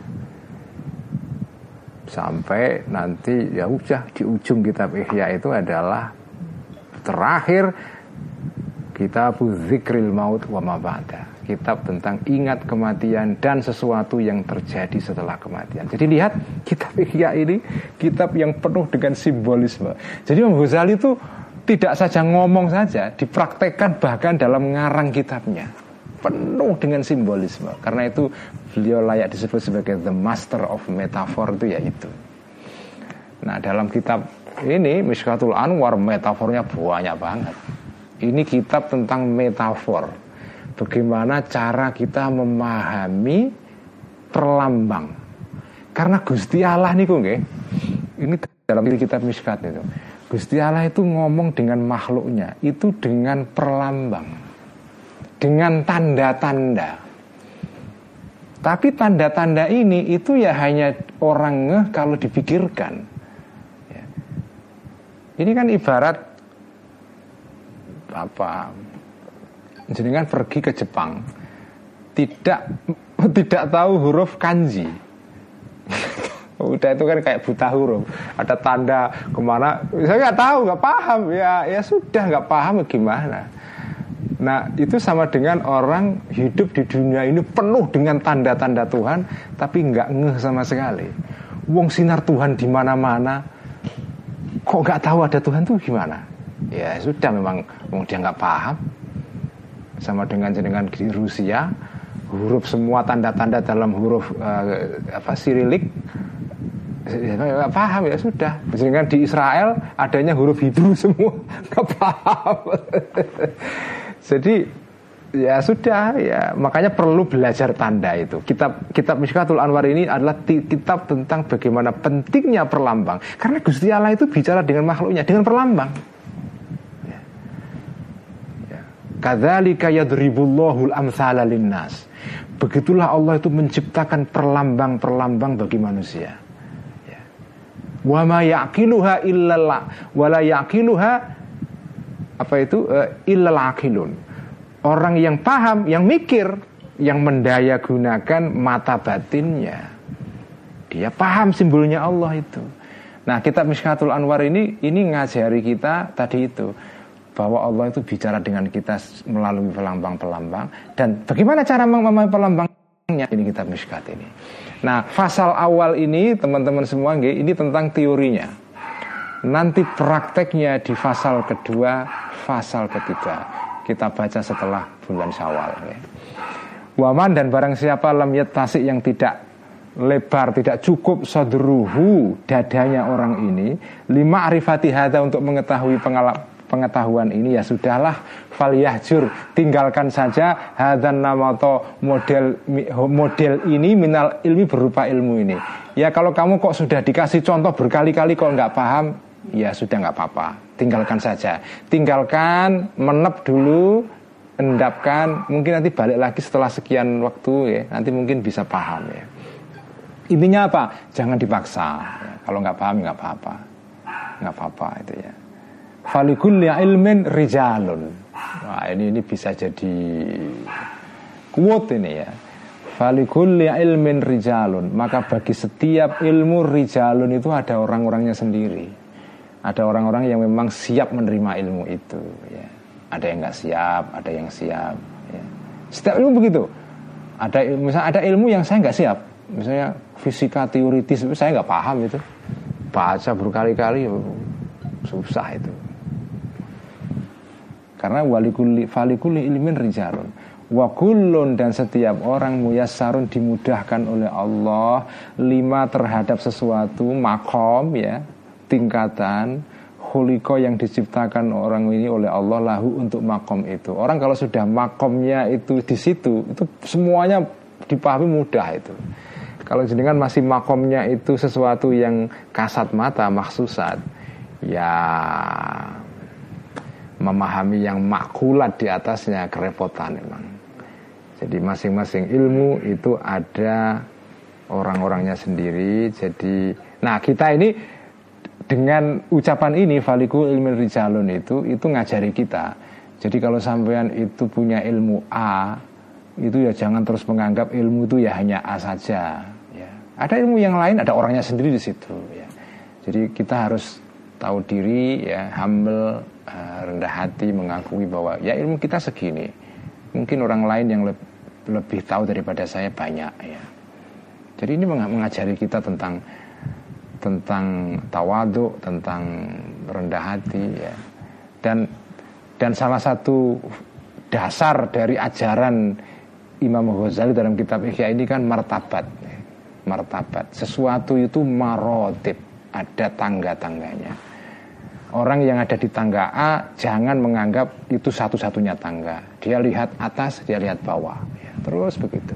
Sampai nanti ya udah di ujung kitab Ihya itu adalah terakhir Kitabu Zikril Maut wa ma ba'da, kitab tentang ingat kematian dan sesuatu yang terjadi setelah kematian. Jadi lihat kitab Ihya ini kitab yang penuh dengan simbolisme. Jadi Imam Ghazali itu tidak saja ngomong saja, dipraktekkan bahkan dalam ngarang kitabnya. Penuh dengan simbolisme. Karena itu beliau layak disebut sebagai the master of metaphor, itu ya itu. Nah dalam kitab ini Mishkatul Anwar metafornya banyak banget. Ini kitab tentang metafor. Bagaimana cara kita memahami perlambang. Karena Gusti Allah niku nggih. Ini dalam kitab Mishkat itu. Gusti Allah itu ngomong dengan makhluknya itu dengan perlambang. Dengan tanda-tanda. Tapi tanda-tanda ini itu ya hanya orang ngeh kalau dipikirkan. Ya. Ini kan ibarat apa? Jenengan pergi ke Jepang tidak tidak tahu huruf kanji. Udah itu kan kayak buta huruf, ada tanda kemana, saya nggak tahu, nggak paham, ya ya sudah nggak paham gimana. Nah itu sama dengan orang hidup di dunia ini penuh dengan tanda-tanda Tuhan, tapi nggak ngeh sama sekali. Wong sinar Tuhan di mana-mana, kok nggak tahu ada Tuhan tuh gimana? Ya sudah, memang wong dia nggak paham. Sama dengan jenengan di Rusia, huruf semua tanda-tanda dalam huruf uh, apa Sirilik. Ya, nggak paham, ya sudah. Dengan di Israel adanya huruf Hebrew semua, nggak paham. Jadi ya sudah, ya makanya perlu belajar tanda itu. Kitab kitab Mishkatul Anwar ini adalah kitab tentang bagaimana pentingnya perlambang. Karena Gusti Allah itu bicara dengan makhluknya dengan perlambang. Ya. Ya. Kadzalika yadribullahul amtsala linnas. Begitulah Allah itu menciptakan perlambang-perlambang bagi manusia. Wa ma yaqiluha illallah wa la yaqiluha apa itu uh, illal aqilun. Orang yang paham, yang mikir, yang mendaya gunakan mata batinnya, dia paham simbolnya Allah itu. Nah, kitab Mishkatul Anwar ini ini ngajari kita tadi itu, bahwa Allah itu bicara dengan kita melalui pelambang-pelambang. Dan bagaimana cara memahami pelambangnya? Ini kitab Mishkat ini. Nah, fasal awal ini teman-teman semua, ini tentang teorinya. Nanti prakteknya di fasal kedua, fasal ketiga. Kita baca setelah bulan Syawal. Waman, dan barang siapa lam yattasi, yang tidak lebar, tidak cukup sadruhu, dadanya orang ini, lima arifati hadza, untuk mengetahui pengalaman pengetahuan ini, ya sudahlah, falyahjur, tinggalkan saja hadzan namato, model model ini minal ilmi, berupa ilmu ini. Ya kalau kamu kok sudah dikasih contoh berkali-kali kok nggak paham, ya sudah nggak apa-apa, tinggalkan saja, tinggalkan, menep dulu, endapkan, mungkin nanti balik lagi setelah sekian waktu ya, nanti mungkin bisa paham ya. Intinya apa? Jangan dipaksa ya. Kalau nggak paham nggak apa-apa, nggak apa-apa itu ya. Falikulli ilmin rijalun. Wah, ini ini bisa jadi quote ini ya. Falikulli ilmin rijalun. Maka bagi setiap ilmu rijalun itu ada orang-orangnya sendiri. Ada orang-orang yang memang siap menerima ilmu itu ya. Ada yang nggak siap, ada yang siap ya. Setiap ilmu begitu. Ada misalnya ada ilmu yang saya nggak siap. Misalnya fisika teoritis itu saya nggak paham itu. Baca berkali-kali susah itu. Karena walikuli falikuli ilmin rijalun wa kullun, dan setiap orang muyassarun, dimudahkan oleh Allah lima, terhadap sesuatu makom ya, tingkatan khuliqa, yang diciptakan orang ini oleh Allah lahu, untuk makom itu. Orang kalau sudah makomnya itu di situ, itu semuanya dipahami mudah itu. Kalau jenengan masih makomnya itu sesuatu yang kasat mata, maksusat, ya memahami yang makulat di atasnya kerepotan memang. Jadi masing-masing ilmu itu ada orang-orangnya sendiri. Jadi, nah kita ini dengan ucapan ini faliku ilmin rijalun itu itu ngajari kita. Jadi kalau sampean itu punya ilmu A, itu ya jangan terus menganggap ilmu itu ya hanya A saja. Ya. Ada ilmu yang lain, ada orangnya sendiri di situ. Ya. Jadi kita harus tahu diri, ya, humble, uh, rendah hati, mengakui bahwa ya ilmu kita segini. Mungkin orang lain yang le- lebih tahu daripada saya banyak ya. Jadi ini mengajari kita tentang tentang tawadhu, tentang rendah hati ya. Dan dan salah satu dasar dari ajaran Imam Ghazali dalam kitab Ihya ini kan martabat. Martabat. Sesuatu itu marotib, ada tangga-tangganya. Orang yang ada di tangga A jangan menganggap itu satu-satunya tangga. Dia lihat atas, dia lihat bawah ya, terus begitu.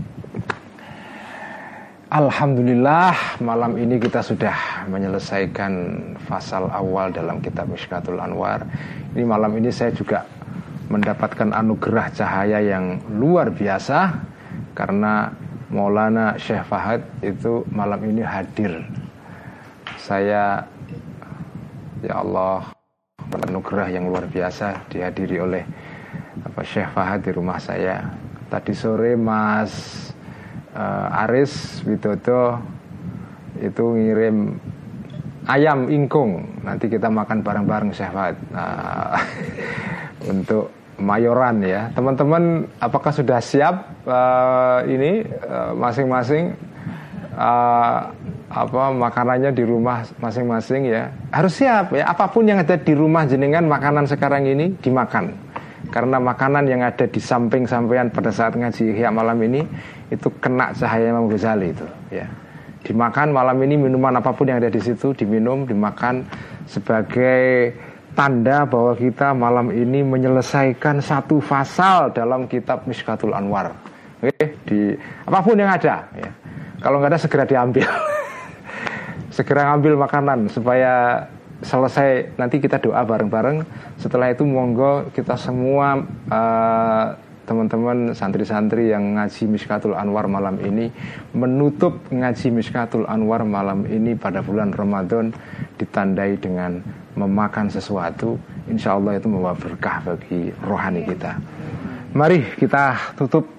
Alhamdulillah, malam ini kita sudah menyelesaikan fasal awal dalam kitab Mishkatul Anwar. Ini malam ini saya juga mendapatkan anugerah cahaya yang luar biasa, karena Maulana Syekh Fahad itu malam ini hadir. Saya, ya Allah, anugerah yang luar biasa dihadiri oleh apa, Syekh Fahad di rumah saya. Tadi sore Mas uh, Aris Widodo itu ngirim ayam ingkung. Nanti kita makan bareng-bareng Syekh Fuad. Nah, untuk Mayoran ya. Teman-teman apakah sudah siap uh, ini uh, masing-masing uh, apa makanannya di rumah masing-masing ya? Harus siap ya. Apapun yang ada di rumah jenengan makanan sekarang ini dimakan. Karena makanan yang ada di samping sampean pada saat ngaji Ihya malam ini itu kena cahaya Imam Ghazali itu ya. Dimakan malam ini, minuman apapun yang ada di situ diminum, dimakan sebagai tanda bahwa kita malam ini menyelesaikan satu pasal dalam kitab Mishkatul Anwar. Oke, di apapun yang ada ya. Kalau nggak ada segera diambil. Segera ambil makanan supaya selesai, nanti kita doa bareng-bareng. Setelah itu monggo kita semua uh, teman-teman santri-santri yang ngaji Mishkatul Anwar malam ini menutup ngaji Mishkatul Anwar malam ini pada bulan Ramadan ditandai dengan memakan sesuatu. Insya Allah itu membawa berkah bagi rohani kita. Mari kita tutup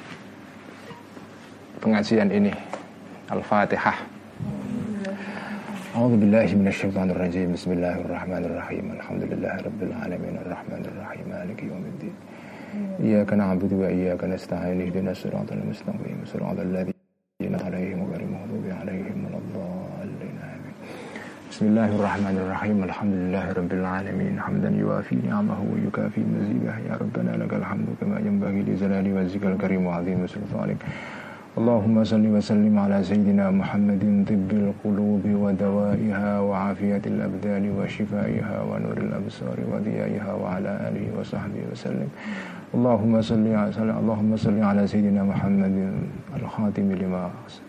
pengajian ini. Al-Fatihah. A'udzubillahi minasyaitonirrajim. Bismillahirrahmanirrahim. Alhamdulillahirabbil alamin arrahmanir rahim maliki yaumiddin. Iyyaka na'budu wa iyyaka nasta'in ihdinas siratal mustaqim siratal ladzina an'amta 'alaihim ghairil maghdubi 'alaihim waladdallin. Bismillahirrahmanirrahim. Alhamdulillahirabbil alamin hamdan yuwafi ni'amahu wa yukafi mazidah. Ya rabbana lakal hamdu kama yanbaghi li jalali wajhikal karim wa 'azimi sultanik. Allahumma salli wa sallim ala sayyidina Muhammadin tibbil qulubi wa dawaiha wa afiyatil abdani wa shifaiha wa nuril absari wa diyaiha wa ala alihi wa sahbihi wa sallim. Allahumma salli ala Allahumma salli ala sayyidina Muhammadin al-khatimi lima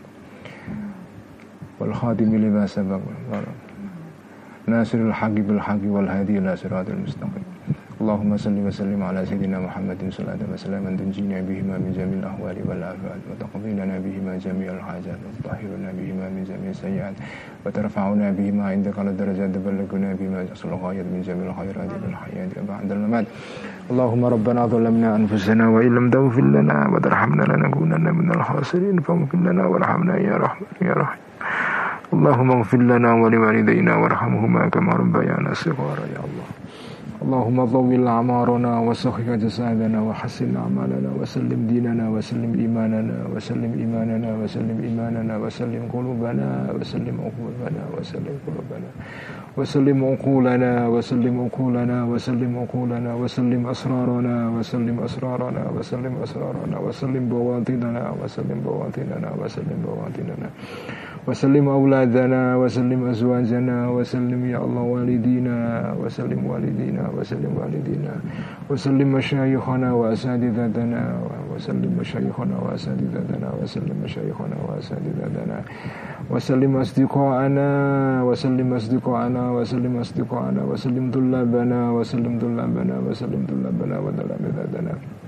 wal khatimi lima sabaq nasirul haqqi bil haqqi wal hadi ila siratal mustaqim. Allahumma salli wa sallim ala sayyidina Muhammadin sallallahu wa sallam tunjina bihima min jamil ahwali wal afat wa taqdilana bihima jami'al hajat wa tahhiruna bihima min jami'is sayyi'at wa tarfa'una bihima indaka al darajat wa balaghuna bihima aslul ghayat min jamil khairat wal hayat ba'dal mamat. Allahumma rabbana zalamna anfusana wa illam taghfir lana wa tarhamna lanakunanna minal khasirin faghfir lana warhamna ya rahman ya rahim. Allahumma ighfir lana wa liwalidayna warhamhuma kama rabbayana shighara ya Allah. Allahumma dhawwil a'marana wa sahhih jasadana wa hassin a'malana wa sallim dinana wa sallim imanana wa sallim imanana wa sallim imanana wa sallim qulubana wa sallim uqulana wa sallim qulubana wa sallim uqulana wa sallim uqulana wa sallim uqulana wa sallim asrarana wa sallim asrarana wa sallim asrarana wa sallim bawatinana wa sallim bawatinana wa sallim bawatinana wa sallim auladana wa sallim azwajana wa sallim ya Allah walidina wa sallim walidina wa sallim walidina wa sallim masyayikhana wa asadidatana wa sallim masyayikhana wa asadidatana wa sallim masyayikhana wa asadidatana wa sallim asdiqana wa sallim asdiqana wa sallim asdiqana wa sallim tullabana wa sallim tullabana wa sallim tullabana wa tullabadatana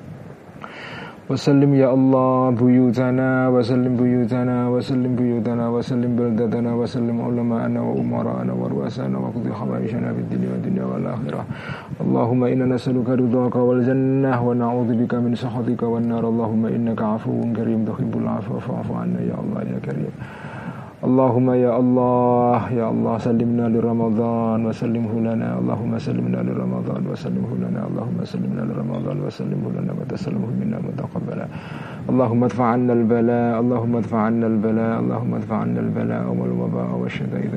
وسلم يا الله بيوتنا وسلم بيوتنا وسلم بيوتنا وسلم بلدتنا وسلم علماءنا وأمراءنا ورؤسانا وقضي حوائجنا في الدنيا والدنيا والآخرة. اللهم إنا نسألك رضاك والجنة ونعوذ بك من سخطك والنار. اللهم إنك عفو كريم تحب العفو فاعف عنا يا الله يا كريم. اللهم يا الله يا الله سلمنا لرمضان وسلمه لنا. اللهم سلمنا لرمضان وسلمه لنا. اللهم سلمنا لرمضان وسلمه لنا وتسلمه منا متقبلا. اللهم ادفع عنا البلاء. اللهم ادفع عنا البلاء. اللهم ادفع عنا البلاء والوباء والشدائد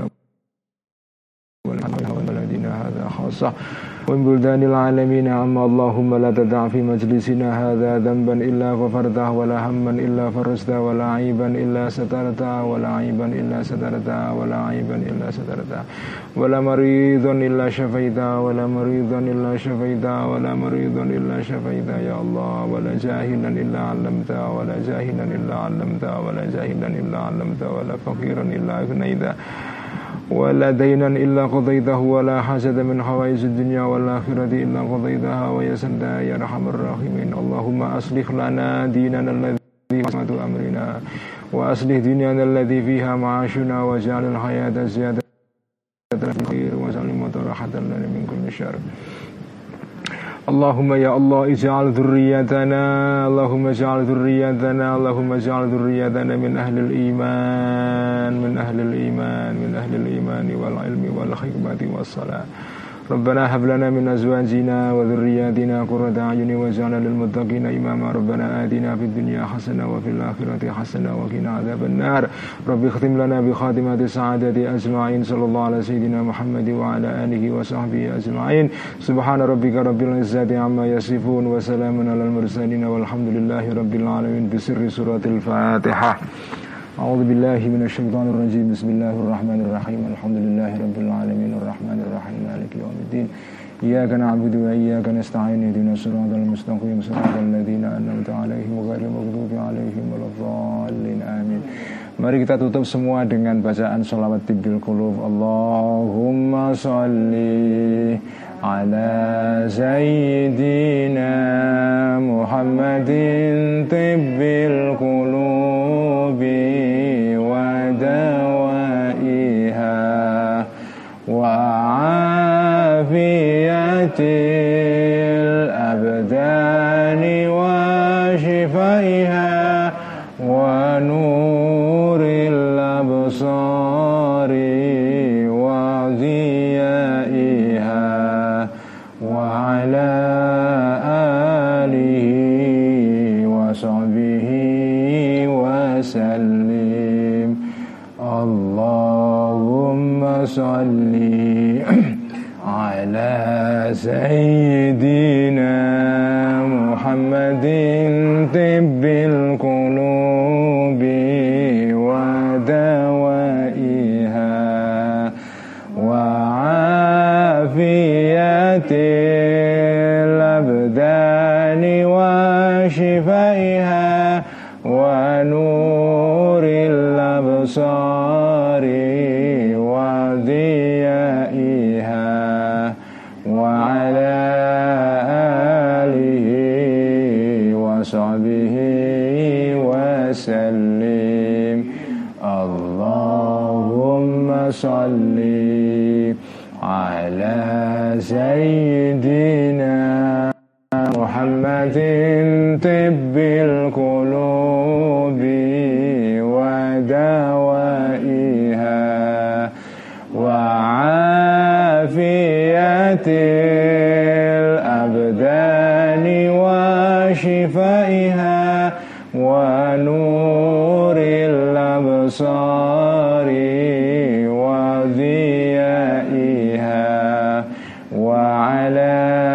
والبلدنا هذا خاصة ومن بلدان العالمين عما. اللهم لا تدع في مجلسنا هذا ذنبا إلا غفرته ولا هما إلا فرجته ولا عيبا إلا سترته ولا عيبا إلا سترته ولا عيبا إلا سترته ولا مريضا إلا شفيته ولا مريضا إلا شفيته ولا مريضا إلا شفيته يا الله. ولا جاهلا إلا علمته ولا جاهلا إلا علمته ولا جاهلا إلا علمته ولا فقيرا إلا أغنيته ولا دينا إلا قضيته ولا حاجة من حوائج الدنيا والآخرة إلا قضيتها ويسرتها يا أرحم الراحمين. اللهم أصلح لنا ديننا الذي عصمة أمرنا وأصلح دنيانا الذي فيها معاشنا واجعل الحياة زيادة في الخير واجعل الموت راحة لنا من كل شر. Allahumma ya Allah ij'al dzurriyyatana Allahumma ij'al dzurriyyatana Allahumma ij'al dzurriyyatana min ahlil iman min ahlil iman min ahlil imani wal ilmi wal hikmati was salah. Rabbana hab lana min azwajina wa dhurriyyatina qurrata a'yuni waj'alna lil muttaqina imama. Rabbana atina fid dunya hasanah wa fil akhirati hasanah wa qina adzaban nar. Rabbi khtim lana bi khatimati sa'adati ajma'in. Sallallahu ala sayyidina Muhammad wa ala alihi wa sahbihi ajma'in. Subhana rabbika rabbil izzati amma yasifun wa salamun alal mursalin walhamdulillahi rabbil alamin. Bi sirri suratil Fatihah. A'udzu billahi minasyaitonir rajim. Bismillahirrahmanirrahim. Alhamdulillahi rabbil alamin arrahmanir rahim maliki yaumiddin. Iyyaka na'budu wa iyyaka nasta'in. Ihdinas siratal mustaqim siratal ladzina an'amta 'alaihim ghairil maghdubi 'alaihim waladdallin. Amin. Mari kita tutup semua dengan bacaan shalawat tibbil qulub. Allahumma shalli ala sayyidina Muhammadin tibbil qulubi wa dawaiha wa afiyatil abdani wa shifaiha wa nuril absari wa dhiyaiha wa ala alihi wa sahbihi wa sallim. Allahumma salli ala sayyidina Muhammadin tibbil qulubi wa dawaiha wa afiyatil abdani wa shifaiha wa nuril absari wa dhiyaiha wa ala alihi wa sahbihi wa sallim. Allahumma salli ala sayyidina Muhammadin tibbil qulubi wa dawaiha wa afiyatil abdani wa shifaiha wa nuril absari wa dhiyaiha wa ala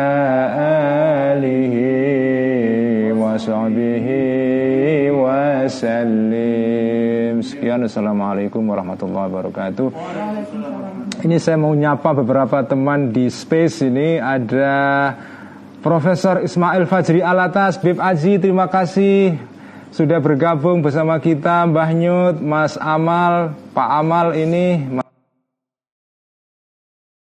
alihi wa sahbihi wa sallim. Sekian, assalamualaikum warahmatullahi wabarakatuh. Ini saya mau nyapa beberapa teman di space ini. Ada Profesor Ismail Fajri Alatas, Bib Aji, terima kasih sudah bergabung bersama kita. Mbah Nyut, Mas Amal, Pak Amal ini